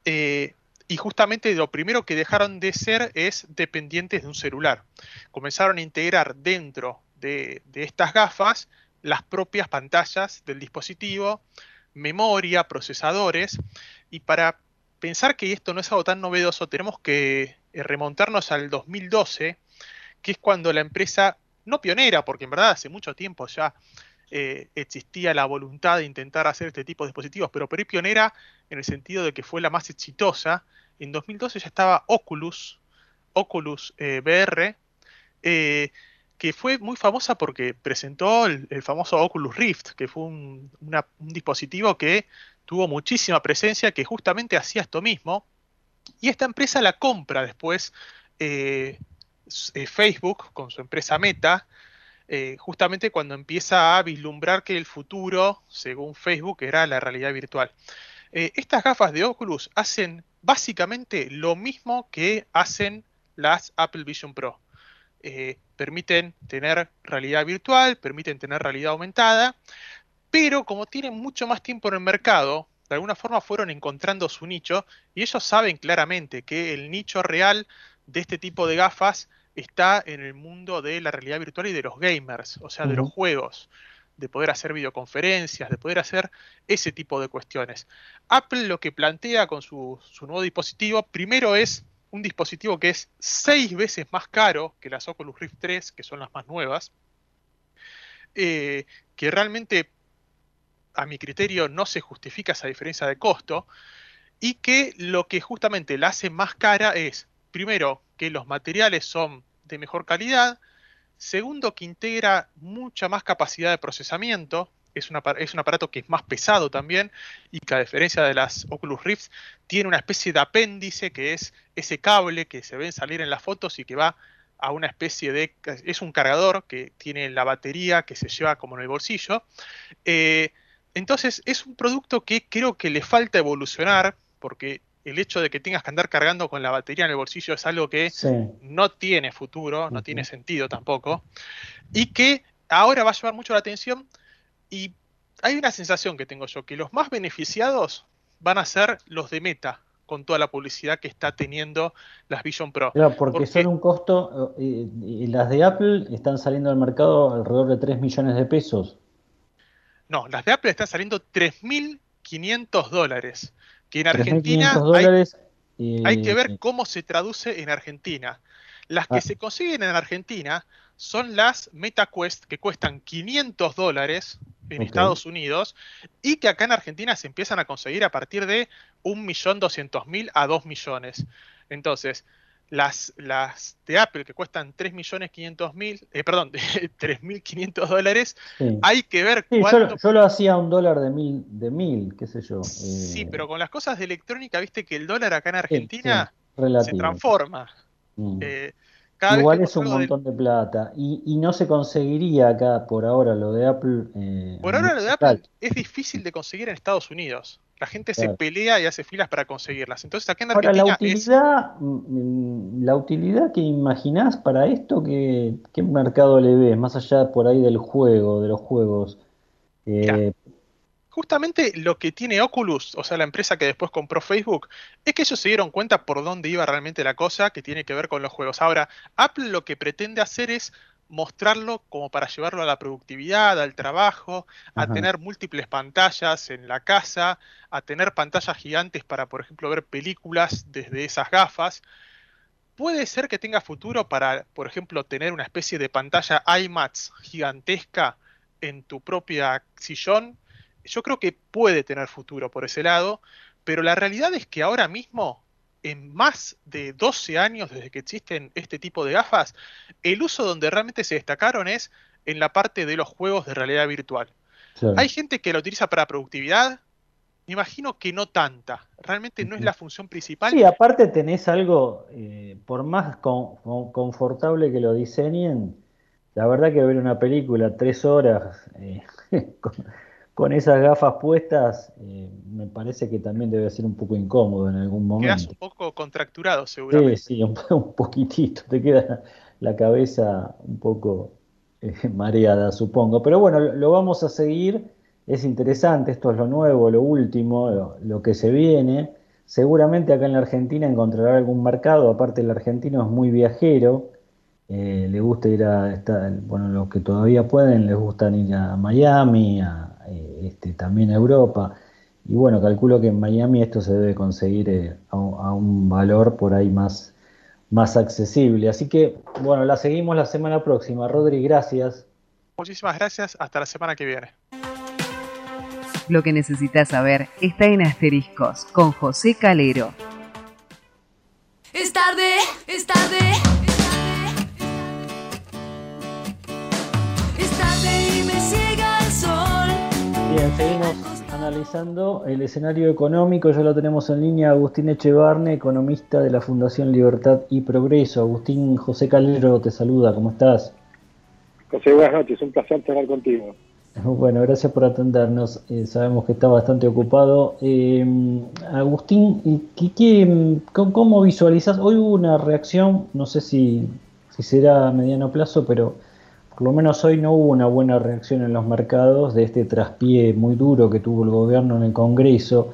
Y justamente lo primero que dejaron de ser es dependientes de un celular. Comenzaron a integrar dentro de estas gafas las propias pantallas del dispositivo, memoria, procesadores, y para pensar que esto no es algo tan novedoso tenemos que remontarnos al 2012, que es cuando la empresa, no pionera, porque en verdad hace mucho tiempo ya existía la voluntad de intentar hacer este tipo de dispositivos, pero por ahí pionera en el sentido de que fue la más exitosa. En 2012 ya estaba Oculus VR, que fue muy famosa porque presentó el famoso Oculus Rift, que fue un dispositivo que tuvo muchísima presencia, que justamente hacía esto mismo, y esta empresa la compra después Facebook con su empresa Meta, justamente cuando empieza a vislumbrar que el futuro, según Facebook, era la realidad virtual. Estas gafas de Oculus hacen básicamente lo mismo que hacen las Apple Vision Pro. permiten tener realidad virtual, permiten tener realidad aumentada, pero como tienen mucho más tiempo en el mercado, de alguna forma fueron encontrando su nicho y ellos saben claramente que el nicho real de este tipo de gafas está en el mundo de la realidad virtual y de los gamers, o sea, de los juegos, de poder hacer videoconferencias, de poder hacer ese tipo de cuestiones. Apple lo que plantea con su nuevo dispositivo, primero es un dispositivo que es 6 veces más caro que las Oculus Rift 3, que son las más nuevas, que realmente, a mi criterio, no se justifica esa diferencia de costo, y que lo que justamente la hace más cara es, primero, que los materiales son de mejor calidad, segundo, que integra mucha más capacidad de procesamiento, es un aparato que es más pesado también, y que a diferencia de las Oculus Rift, tiene una especie de apéndice que es ese cable que se ven salir en las fotos y que va a una especie de... es un cargador que tiene la batería que se lleva como en el bolsillo. Entonces es un producto que creo que le falta evolucionar, porque el hecho de que tengas que andar cargando con la batería en el bolsillo es algo que no tiene futuro, no tiene sentido tampoco, y que ahora va a llamar mucho la atención. Y hay una sensación que tengo yo, que los más beneficiados van a ser los de Meta, con toda la publicidad que está teniendo las Vision Pro. Claro, porque son un costo, y las de Apple están saliendo al mercado alrededor de 3 millones de pesos. No, las de Apple están saliendo $3.500, que en Argentina hay que ver cómo se traduce en Argentina. Las que se consiguen en Argentina son las MetaQuest, que cuestan $500 en Estados Unidos, y que acá en Argentina se empiezan a conseguir a partir de 1.200.000 a 2 millones. Entonces, las de Apple, que cuestan $3.500.000, hay que ver cuánto... Yo lo hacía $1 de mil, qué sé yo. Sí, pero con las cosas de electrónica, viste que el dólar acá en Argentina se transforma. Igual es un montón de plata. Y no se conseguiría acá por ahora lo de Apple. Por ahora lo de Apple es difícil de conseguir en Estados Unidos. La gente se pelea y hace filas para conseguirlas. Entonces acá en Argentina la utilidad que imaginás para esto, ¿qué mercado le ves? Más allá por ahí del juego, de los juegos. Justamente lo que tiene Oculus, o sea, la empresa que después compró Facebook, es que ellos se dieron cuenta por dónde iba realmente la cosa, que tiene que ver con los juegos. Ahora, Apple lo que pretende hacer es mostrarlo como para llevarlo a la productividad, al trabajo, a tener múltiples pantallas en la casa, a tener pantallas gigantes para, por ejemplo, ver películas desde esas gafas. Puede ser que tenga futuro para, por ejemplo, tener una especie de pantalla IMAX gigantesca en tu propia sillón. Yo creo que puede tener futuro por ese lado, pero la realidad es que ahora mismo, en más de 12 años desde que existen este tipo de gafas, el uso donde realmente se destacaron es en la parte de los juegos de realidad virtual. Claro. Hay gente que lo utiliza para productividad, me imagino que no tanta, realmente no es la función principal. Sí, aparte tenés algo, por más confortable que lo diseñen, la verdad que ver una película 3 horas... con esas gafas puestas, me parece que también debe ser un poco incómodo en algún momento. Quedas un poco contracturado, seguramente. Sí, un poquitito. Te queda la cabeza un poco mareada, supongo. Pero bueno, lo vamos a seguir. Es interesante, esto es lo nuevo, lo último, lo que se viene. Seguramente acá en la Argentina encontrará algún mercado. Aparte, el argentino es muy viajero. Le gusta ir los que todavía pueden, les gustan ir a Miami, también a Europa, y bueno, calculo que en Miami esto se debe conseguir a un valor por ahí más accesible, así que bueno, la seguimos la semana próxima. Rodri, gracias. Muchísimas gracias, hasta la semana que viene. Lo que necesitas saber está en Asteriscos con José Calero. Es tarde, es tarde. Bien, seguimos analizando el escenario económico. Ya lo tenemos en línea Agustín Echevarne, economista de la Fundación Libertad y Progreso. Agustín, José Calero te saluda, ¿cómo estás? José, buenas noches, un placer estar contigo. Bueno, gracias por atendernos, sabemos que está bastante ocupado. Agustín, ¿cómo visualizas? Hoy hubo una reacción, no sé si si será a mediano plazo, pero por lo menos hoy no hubo una buena reacción en los mercados de este traspié muy duro que tuvo el gobierno en el Congreso.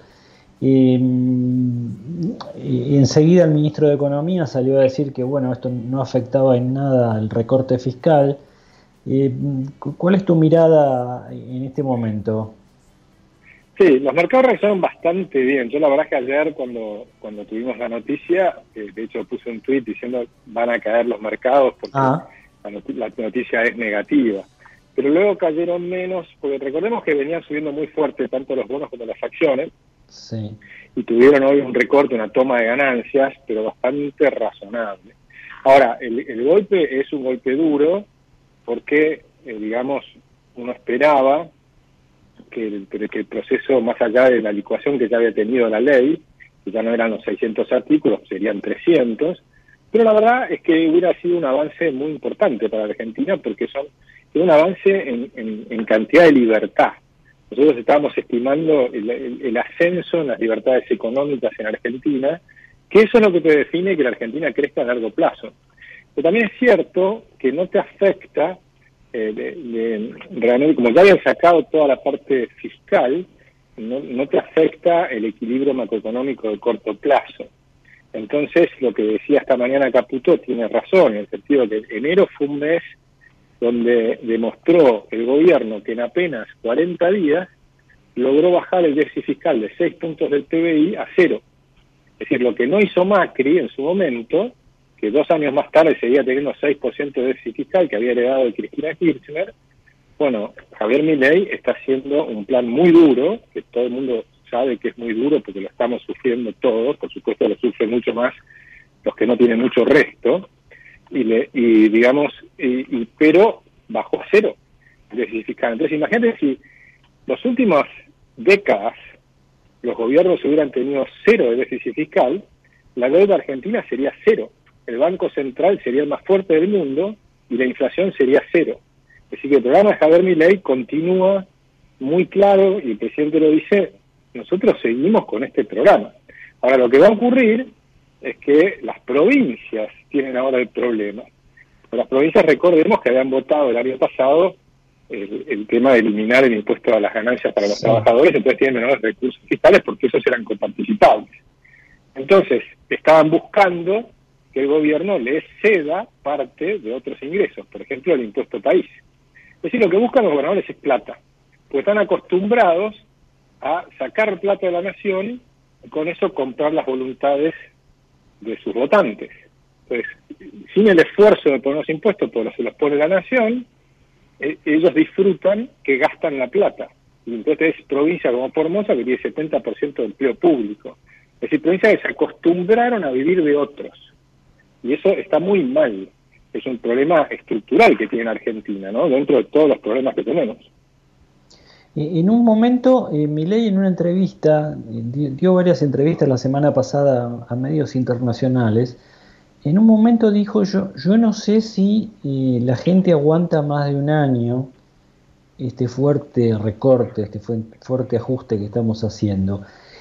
Enseguida el ministro de Economía salió a decir que bueno, esto no afectaba en nada al recorte fiscal. ¿Cuál es tu mirada en este momento? Sí, los mercados reaccionaron bastante bien. Yo la verdad es que ayer cuando tuvimos la noticia, de hecho puse un tuit diciendo van a caer los mercados porque la noticia es negativa. Pero luego cayeron menos, porque recordemos que venían subiendo muy fuerte tanto los bonos como las acciones. Sí. Y tuvieron hoy un recorte, una toma de ganancias, pero bastante razonable. Ahora, el golpe es un golpe duro porque, digamos, uno esperaba que el proceso, más allá de la licuación que ya había tenido la ley, que ya no eran los 600 artículos, serían 300, pero la verdad es que hubiera sido un avance muy importante para la Argentina porque es un avance en cantidad de libertad. Nosotros estábamos estimando el ascenso en las libertades económicas en Argentina, que eso es lo que te define que la Argentina crezca a largo plazo. Pero también es cierto que no te afecta, realmente, como ya habían sacado toda la parte fiscal, no te afecta el equilibrio macroeconómico de corto plazo. Entonces, lo que decía esta mañana Caputo tiene razón, en el sentido que enero fue un mes donde demostró el gobierno que en apenas 40 días logró bajar el déficit fiscal de 6 puntos del PBI a 0. Es decir, lo que no hizo Macri en su momento, que 2 años más tarde seguía teniendo 6% de déficit fiscal que había heredado de Cristina Kirchner, bueno, Javier Milei está haciendo un plan muy duro, que todo el mundo sabe que es muy duro porque lo estamos sufriendo todos, por supuesto lo sufren mucho más los que no tienen mucho resto, pero bajó a 0 el déficit fiscal. Entonces imagínate si las últimas décadas los gobiernos hubieran tenido 0 de déficit fiscal, la deuda argentina sería 0, el Banco Central sería el más fuerte del mundo y la inflación sería 0. Es decir, que el programa de Javier Milei continúa muy claro y el presidente lo dice, nosotros seguimos con este programa. Ahora, lo que va a ocurrir es que las provincias tienen ahora el problema. Las provincias, recordemos que habían votado el año pasado el tema de eliminar el impuesto a las ganancias para los trabajadores, entonces tienen menores recursos fiscales porque esos eran coparticipables. Entonces, estaban buscando que el gobierno les ceda parte de otros ingresos, por ejemplo, el impuesto país. Es decir, lo que buscan los gobernadores es plata, porque están acostumbrados a sacar plata de la nación y con eso comprar las voluntades de sus votantes. Entonces, sin el esfuerzo de poner los impuestos, porque se los pone la nación, ellos disfrutan que gastan la plata. Y entonces es provincia como Formosa que tiene 70% de empleo público. Es decir, provincias que se acostumbraron a vivir de otros. Y eso está muy mal. Es un problema estructural que tiene Argentina, ¿no? Dentro de todos los problemas que tenemos. En un momento, Milei en una entrevista, dio varias entrevistas la semana pasada a medios internacionales. En un momento dijo, yo no sé si la gente aguanta más de un año este fuerte recorte, este fuerte ajuste que estamos haciendo.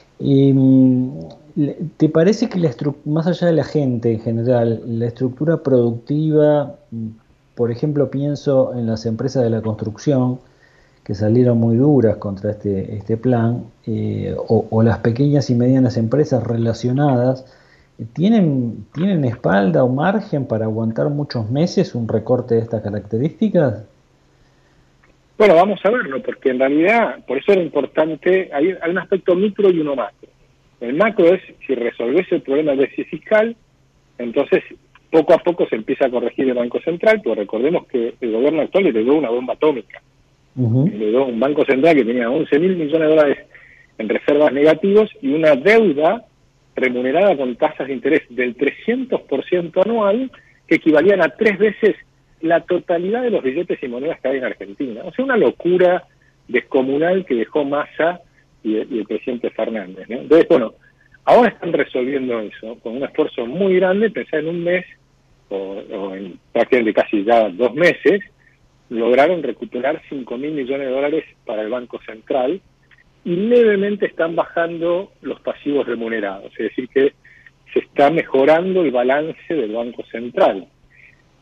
¿Te parece que más allá de la gente en general, la estructura productiva, por ejemplo, pienso en las empresas de la construcción, que salieron muy duras contra este plan, o las pequeñas y medianas empresas relacionadas, ¿tienen espalda o margen para aguantar muchos meses un recorte de estas características? Bueno, vamos a verlo, porque en realidad, por eso era importante, hay un aspecto micro y uno macro. El macro es, si resolvés el problema del déficit fiscal, entonces poco a poco se empieza a corregir el Banco Central, pero recordemos que el gobierno actual le dio una bomba atómica. Le dio un Banco Central que tenía 11.000 millones de dólares en reservas negativos y una deuda remunerada con tasas de interés del 300% anual, que equivalían a 3 veces la totalidad de los billetes y monedas que hay en Argentina. O sea, una locura descomunal que dejó Massa y el presidente Fernández, ¿no? Entonces, bueno, ahora están resolviendo eso con un esfuerzo muy grande. Pensá en un mes o en prácticamente casi ya 2 meses, lograron recuperar 5.000 millones de dólares para el Banco Central y levemente están bajando los pasivos remunerados, es decir que se está mejorando el balance del Banco Central.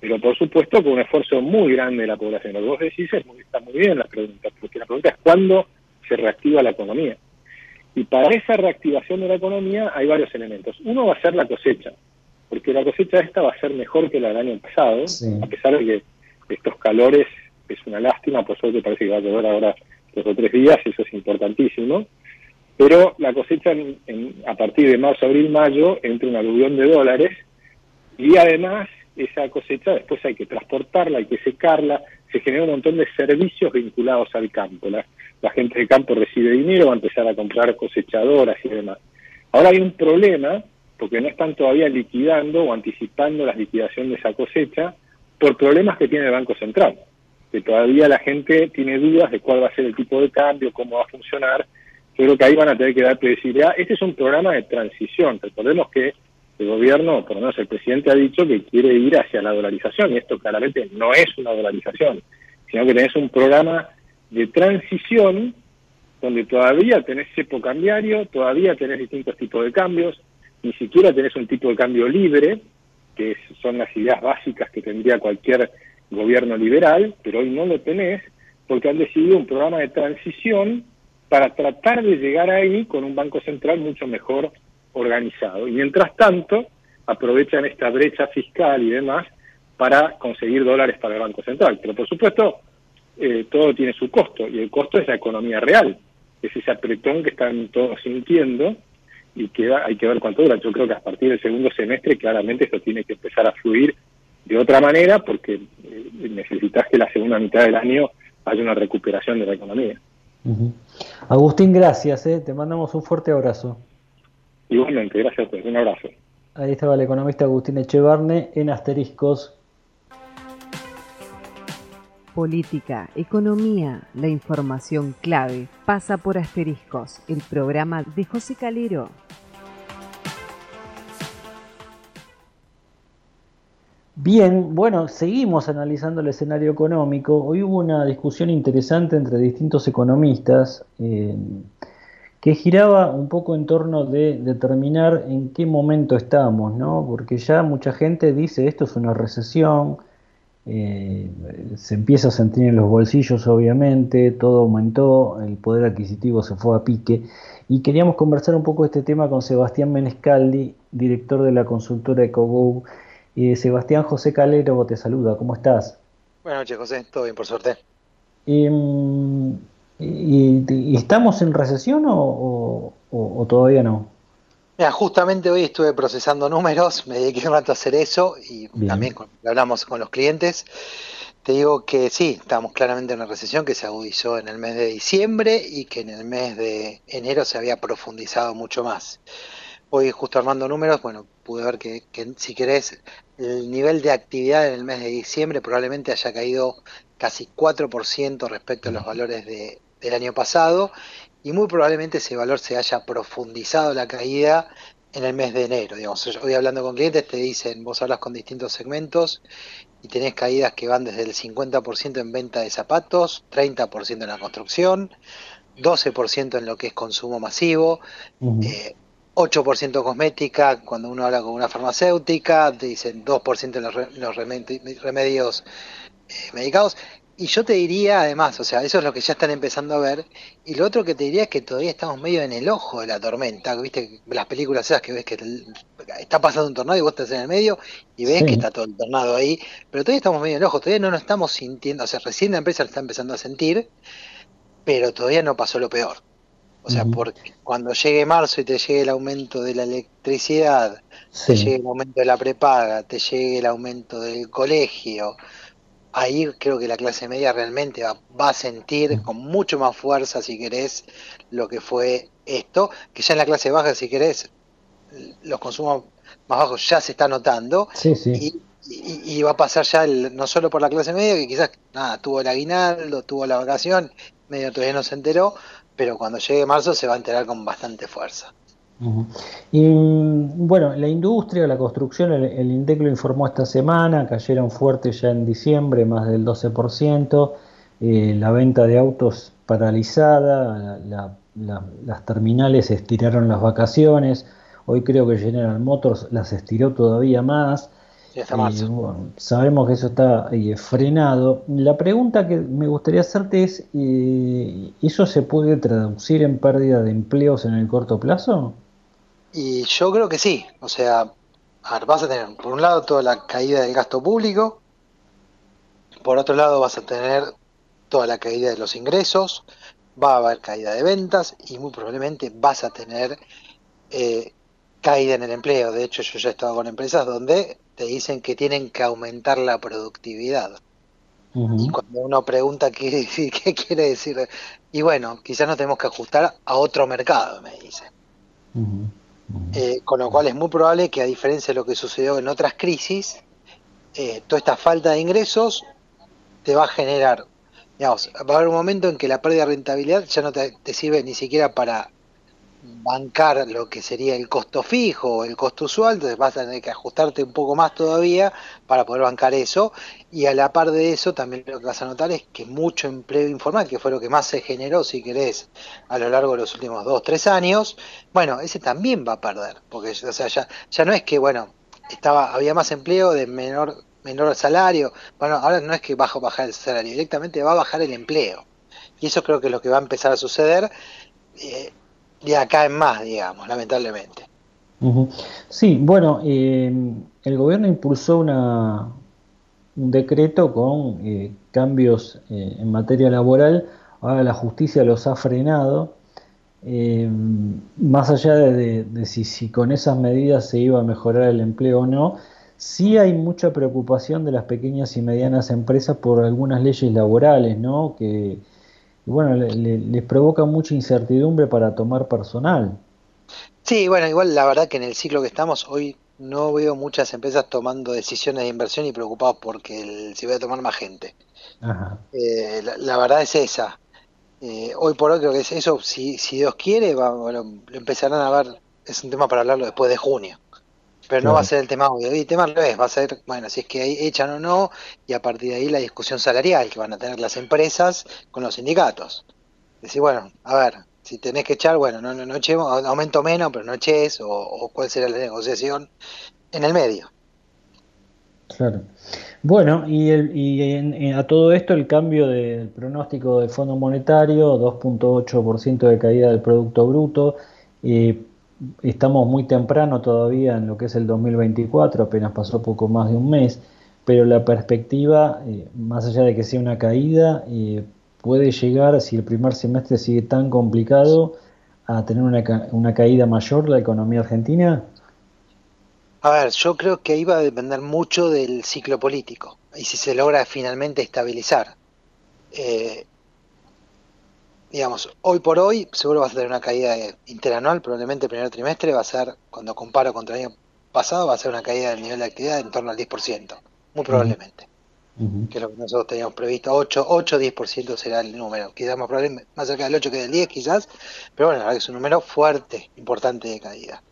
pero por supuesto con un esfuerzo muy grande de la población. Lo que vos decís está muy bien la pregunta, porque la pregunta es ¿cuándo se reactiva la economía? Y para esa reactivación de la economía hay varios elementos. Uno va a ser la cosecha, porque la cosecha esta va a ser mejor que la del año pasado, a pesar de que estos calores es una lástima, por suerte parece que va a llover ahora 2 o 3 días, eso es importantísimo, pero la cosecha a partir de marzo, abril, mayo entra un aluvión de dólares, y además esa cosecha después hay que transportarla, hay que secarla, se genera un montón de servicios vinculados al campo. La gente del campo recibe dinero, va a empezar a comprar cosechadoras y demás. Ahora hay un problema, porque no están todavía liquidando o anticipando la liquidación de esa cosecha por problemas que tiene el Banco Central, que todavía la gente tiene dudas de cuál va a ser el tipo de cambio, cómo va a funcionar. Yo creo que ahí van a tener que dar previsibilidad. Este es un programa de transición. Recordemos que el gobierno, por lo menos el presidente, ha dicho que quiere ir hacia la dolarización, y esto claramente no es una dolarización, sino que tenés un programa de transición donde todavía tenés cepo cambiario, todavía tenés distintos tipos de cambios, ni siquiera tenés un tipo de cambio libre, que son las ideas básicas que tendría cualquier gobierno liberal, pero hoy no lo tenés, porque han decidido un programa de transición para tratar de llegar ahí con un Banco Central mucho mejor organizado. Y mientras tanto, aprovechan esta brecha fiscal y demás para conseguir dólares para el Banco Central. Pero por supuesto, todo tiene su costo, y el costo es la economía real, es ese apretón que están todos sintiendo, y que hay que ver cuánto dura. Yo creo que a partir del segundo semestre claramente esto tiene que empezar a fluir de otra manera, porque necesitas que la segunda mitad del año haya una recuperación de la economía. Agustín, gracias, te mandamos un fuerte abrazo. Igualmente, gracias a ustedes, un abrazo. Ahí estaba el economista Agustín Echevarne en Asteriscos. Política, economía, la información clave pasa por Asteriscos, el programa de José Calero. Bien, bueno, seguimos analizando el escenario económico. Hoy hubo una discusión interesante entre distintos economistas que giraba un poco en torno de determinar en qué momento estamos, ¿no? Porque ya mucha gente dice esto es una recesión, se empieza a sentir en los bolsillos obviamente, todo aumentó, el poder adquisitivo se fue a pique, y queríamos conversar un poco este tema con Sebastián Menescaldi, director de la consultora EcoGo. Sebastián, José Calero te saluda, ¿cómo estás? Buenas noches, José, todo bien por suerte. ¿Y estamos en recesión o todavía no? Mira, justamente hoy estuve procesando números, me dediqué un rato a hacer eso y bien. También hablamos con los clientes. Te digo que sí, estamos claramente en una recesión que se agudizó en el mes de diciembre y que en el mes de enero se había profundizado mucho más. Hoy justo armando números, bueno, pude ver que si querés, el nivel de actividad en el mes de diciembre probablemente haya caído casi 4% respecto a los valores del año pasado, y muy probablemente ese valor se haya profundizado la caída en el mes de enero. Digamos, yo voy hablando con clientes, te dicen, vos hablas con distintos segmentos y tenés caídas que van desde el 50% en venta de zapatos, 30% en la construcción, 12% en lo que es consumo masivo, 8% cosmética. Cuando uno habla con una farmacéutica te dicen 2% en los remedios medicados. Y yo te diría además, o sea, eso es lo que ya están empezando a ver, y lo otro que te diría es que todavía estamos medio en el ojo de la tormenta. Viste las películas esas que ves que está pasando un tornado y vos estás en el medio y ves que está todo el tornado ahí, pero todavía estamos medio en el ojo, todavía no nos estamos sintiendo, o sea, recién la empresa lo está empezando a sentir, pero todavía no pasó lo peor. O sea, porque cuando llegue marzo y te llegue el aumento de la electricidad, te llegue el aumento de la prepaga, te llegue el aumento del colegio, ahí creo que la clase media realmente va a sentir con mucho más fuerza, si querés, lo que fue esto, que ya en la clase baja, si querés, los consumos más bajos ya se está notando, y va a pasar ya no solo por la clase media, que quizás tuvo el aguinaldo, tuvo la vacación, medio todavía no se enteró, pero cuando llegue marzo se va a enterar con bastante fuerza. Y bueno, la industria, la construcción, el INDEC lo informó esta semana, cayeron fuerte ya en diciembre, más del 12%, la venta de autos paralizada, las terminales estiraron las vacaciones, hoy creo que General Motors las estiró todavía más, y hasta marzo. Bueno, sabemos que eso está frenado. La pregunta que me gustaría hacerte es, ¿eso se puede traducir en pérdida de empleos en el corto plazo? Y yo creo que sí, o sea, a ver, vas a tener por un lado toda la caída del gasto público, por otro lado vas a tener toda la caída de los ingresos, va a haber caída de ventas y muy probablemente vas a tener caída en el empleo. De hecho, yo ya he estado con empresas donde te dicen que tienen que aumentar la productividad. Y cuando uno pregunta qué quiere decir, y bueno, quizás nos tenemos que ajustar a otro mercado, me dicen. Con lo cual es muy probable que, a diferencia de lo que sucedió en otras crisis, toda esta falta de ingresos te va a generar, digamos, va a haber un momento en que la pérdida de rentabilidad ya no te sirve ni siquiera para bancar lo que sería el costo fijo o el costo usual, entonces vas a tener que ajustarte un poco más todavía para poder bancar eso, y a la par de eso también lo que vas a notar es que mucho empleo informal, que fue lo que más se generó, si querés, a lo largo de los últimos 2-3 años, bueno, ese también va a perder, porque o sea, ya no es que, bueno, había más empleo de menor salario, bueno, ahora no es que va a bajar el salario, directamente va a bajar el empleo, y eso creo que es lo que va a empezar a suceder de acá en más, digamos, lamentablemente. Sí, bueno, el gobierno impulsó un decreto con cambios en materia laboral. Ahora la justicia los ha frenado. Más allá de si con esas medidas se iba a mejorar el empleo o no, sí hay mucha preocupación de las pequeñas y medianas empresas por algunas leyes laborales, ¿no? Que bueno, les provoca mucha incertidumbre para tomar personal. Sí, bueno, igual la verdad que en el ciclo que estamos hoy no veo muchas empresas tomando decisiones de inversión y preocupados porque si voy a tomar más gente. Ajá. La verdad es esa. Hoy por hoy creo que es eso, si Dios quiere, bueno, lo empezarán a ver, es un tema para hablarlo después de junio. Pero no va a ser el tema hoy, el tema al revés, va a ser, bueno, si es que echan o no, y a partir de ahí la discusión salarial que van a tener las empresas con los sindicatos. Decir, bueno, a ver, si tenés que echar, bueno, no echemos, aumento menos, pero no eches, o cuál será la negociación en el medio. Claro. Bueno, a todo esto el cambio del pronóstico del Fondo Monetario, 2.8% de caída del Producto Bruto. Estamos muy temprano todavía en lo que es el 2024, apenas pasó poco más de un mes, pero la perspectiva, más allá de que sea una caída, puede llegar, si el primer semestre sigue tan complicado, a tener una caída mayor la economía argentina. A ver, yo creo que ahí va a depender mucho del ciclo político y si se logra finalmente estabilizar. Digamos, hoy por hoy seguro vas a tener una caída interanual, probablemente el primer trimestre va a ser, cuando comparo contra el año pasado, va a ser una caída del nivel de actividad en torno al 10%, muy probablemente, que es lo que nosotros teníamos previsto, 8-10% será el número, quizás más probablemente, más cerca del 8 que del 10 quizás, pero bueno, la verdad que es un número fuerte, importante de caída.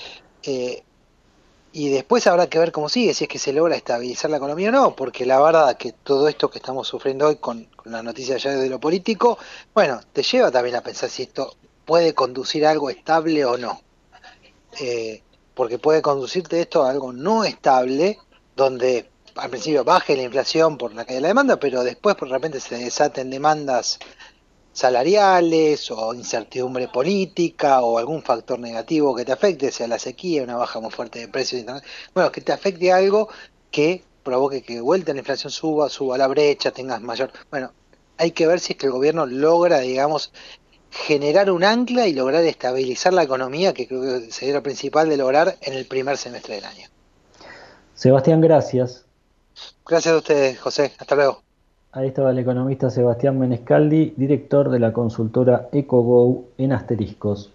Y después habrá que ver cómo sigue, si es que se logra estabilizar la economía o no, porque la verdad que todo esto que estamos sufriendo hoy con la noticia ya de lo político, bueno, te lleva también a pensar si esto puede conducir a algo estable o no. Porque puede conducirte esto a algo no estable, donde al principio baje la inflación por la caída de la demanda, pero después por repente se desaten demandas salariales o incertidumbre política o algún factor negativo que te afecte, sea la sequía, una baja muy fuerte de precios, bueno, que te afecte algo que provoque que de vuelta la inflación suba la brecha, tengas mayor... Bueno, hay que ver si es que el gobierno logra, digamos, generar un ancla y lograr estabilizar la economía, que creo que sería lo principal de lograr en el primer semestre del año. Sebastián, gracias. Gracias a ustedes, José. Hasta luego. Ahí estaba el economista Sebastián Menescaldi, director de la consultora EcoGo en Asteriscos.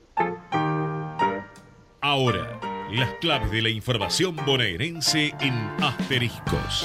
Ahora, las claves de la información bonaerense en Asteriscos.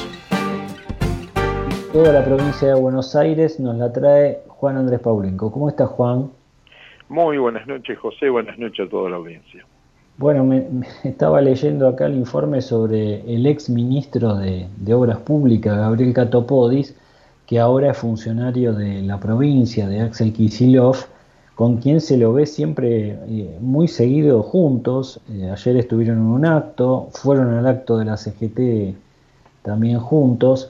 Toda la provincia de Buenos Aires nos la trae Juan Andrés Paulenco. ¿Cómo está, Juan? Muy buenas noches, José. Buenas noches a toda la audiencia. Bueno, me estaba leyendo acá el informe sobre el ex ministro de Obras Públicas, Gabriel Catopodis, que ahora es funcionario de la provincia, de Axel Kicillof, con quien se lo ve siempre muy seguido juntos. Ayer estuvieron en un acto, fueron al acto de la CGT también juntos,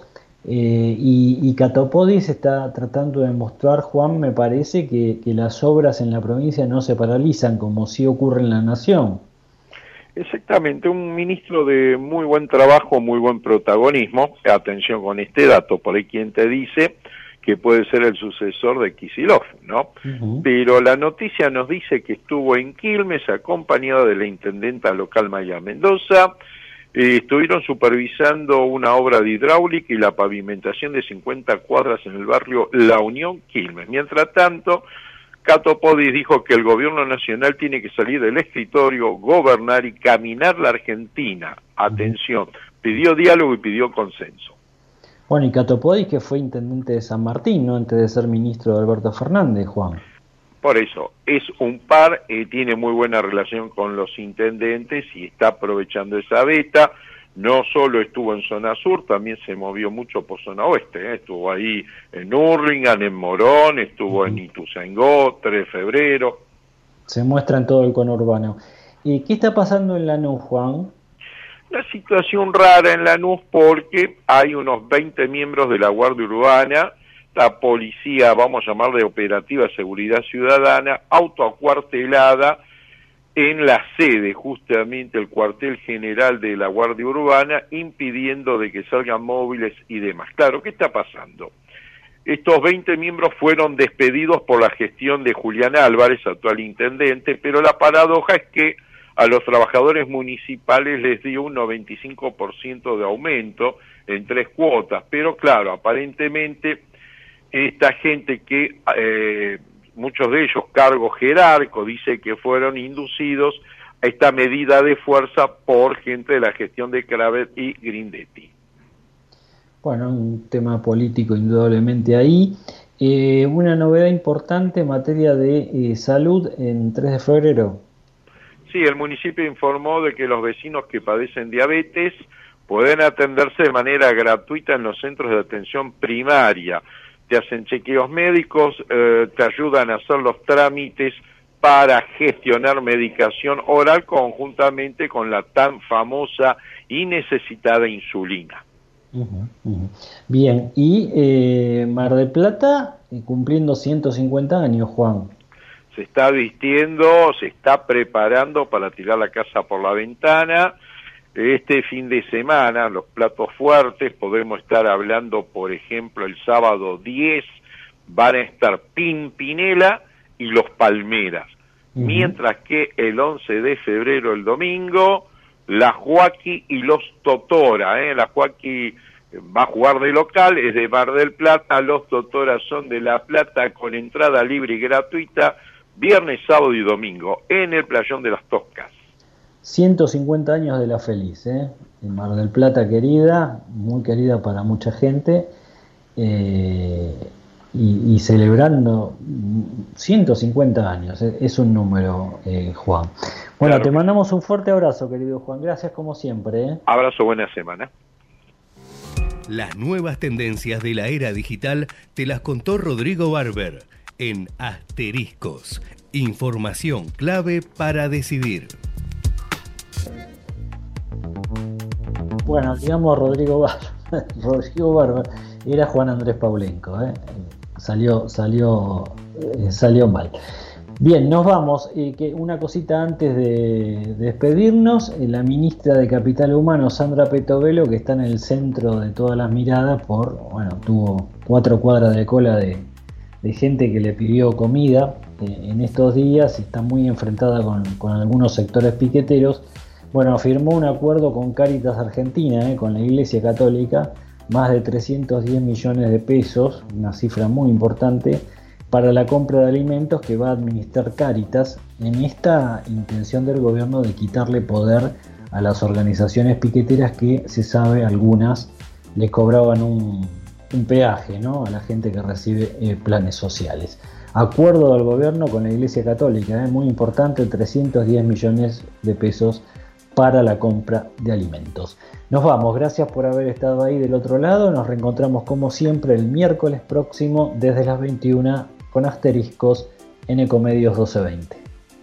y Catopodis está tratando de mostrar, Juan, me parece que las obras en la provincia no se paralizan como sí ocurre en la nación. Exactamente, un ministro de muy buen trabajo, muy buen protagonismo. Atención con este dato, por ahí quien te dice que puede ser el sucesor de Kicillof, ¿no? Pero la noticia nos dice que estuvo en Quilmes acompañado de la intendenta local Maya Mendoza. Estuvieron supervisando una obra de hidráulica y la pavimentación de 50 cuadras en el barrio La Unión, Quilmes. Mientras tanto, Catopodis dijo que el gobierno nacional tiene que salir del escritorio, gobernar y caminar la Argentina. Atención, pidió diálogo y pidió consenso. Bueno, y Catopodis, que fue intendente de San Martín, ¿no? Antes de ser ministro de Alberto Fernández, Juan. Por eso, es un par, tiene muy buena relación con los intendentes y está aprovechando esa beta. No solo estuvo en zona sur, también se movió mucho por zona oeste, estuvo ahí en Hurlingham, en Morón, estuvo en Ituzaingó, 3 de febrero. Se muestra en todo el conurbano. ¿Y qué está pasando en Lanús, Juan? Una situación rara en Lanús porque hay unos 20 miembros de la Guardia Urbana, la policía, vamos a llamarle Operativa Seguridad Ciudadana, autoacuartelada en la sede, justamente el cuartel general de la Guardia Urbana, impidiendo de que salgan móviles y demás. Claro, ¿qué está pasando? Estos 20 miembros fueron despedidos por la gestión de Julián Álvarez, actual intendente, pero la paradoja es que a los trabajadores municipales les dio un 95% de aumento en 3 cuotas, pero claro, aparentemente esta gente que muchos de ellos cargos jerárquicos, dice que fueron inducidos a esta medida de fuerza por gente de la gestión de Cravet y Grindetti. Bueno, un tema político indudablemente ahí. Una novedad importante en materia de salud en 3 de febrero. Sí, el municipio informó de que los vecinos que padecen diabetes pueden atenderse de manera gratuita en los centros de atención primaria. Te hacen chequeos médicos, te ayudan a hacer los trámites para gestionar medicación oral conjuntamente con la tan famosa y necesitada insulina. Bien, y Mar del Plata cumpliendo 150 años, Juan. Se está vistiendo, se está preparando para tirar la casa por la ventana. Este fin de semana, los platos fuertes, podemos estar hablando, por ejemplo, el sábado 10, van a estar Pimpinela y los Palmeras. Mientras que el 11 de febrero, el domingo, la Joaquí y los Totora. La Joaquí va a jugar de local, es de Mar del Plata, los Totora son de La Plata, con entrada libre y gratuita, viernes, sábado y domingo, en el Playón de las Toscas. 150 años de La Feliz, en Mar del Plata, querida, muy querida para mucha gente, y celebrando 150 años, es un número, Juan. Bueno, claro. Te mandamos un fuerte abrazo, querido Juan, gracias como siempre. Abrazo, buena semana. Las nuevas tendencias de la era digital te las contó Rodrigo Barber en Asteriscos, información clave para decidir. Bueno, digamos Rodrigo Barber era Juan Andrés Paulenco, salió mal. Bien, nos vamos. Que una cosita antes de despedirnos, la ministra de Capital Humano, Sandra Petovelo, que está en el centro de todas las miradas tuvo 4 cuadras de cola de gente que le pidió comida en estos días y está muy enfrentada con algunos sectores piqueteros. Bueno, firmó un acuerdo con Cáritas Argentina, con la Iglesia Católica, más de 310 millones de pesos, una cifra muy importante, para la compra de alimentos que va a administrar Cáritas en esta intención del gobierno de quitarle poder a las organizaciones piqueteras que, se sabe, algunas le cobraban un peaje, ¿no?, a la gente que recibe planes sociales. Acuerdo del gobierno con la Iglesia Católica, muy importante, 310 millones de pesos para la compra de alimentos. Nos vamos, gracias por haber estado ahí del otro lado. Nos reencontramos como siempre el miércoles próximo desde las 21 con Asteriscos en Ecomedios 1220.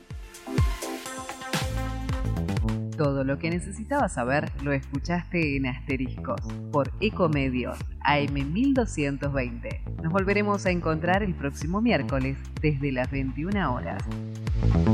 Todo lo que necesitabas saber lo escuchaste en Asteriscos por Ecomedios AM 1220. Nos volveremos a encontrar el próximo miércoles desde las 21 horas.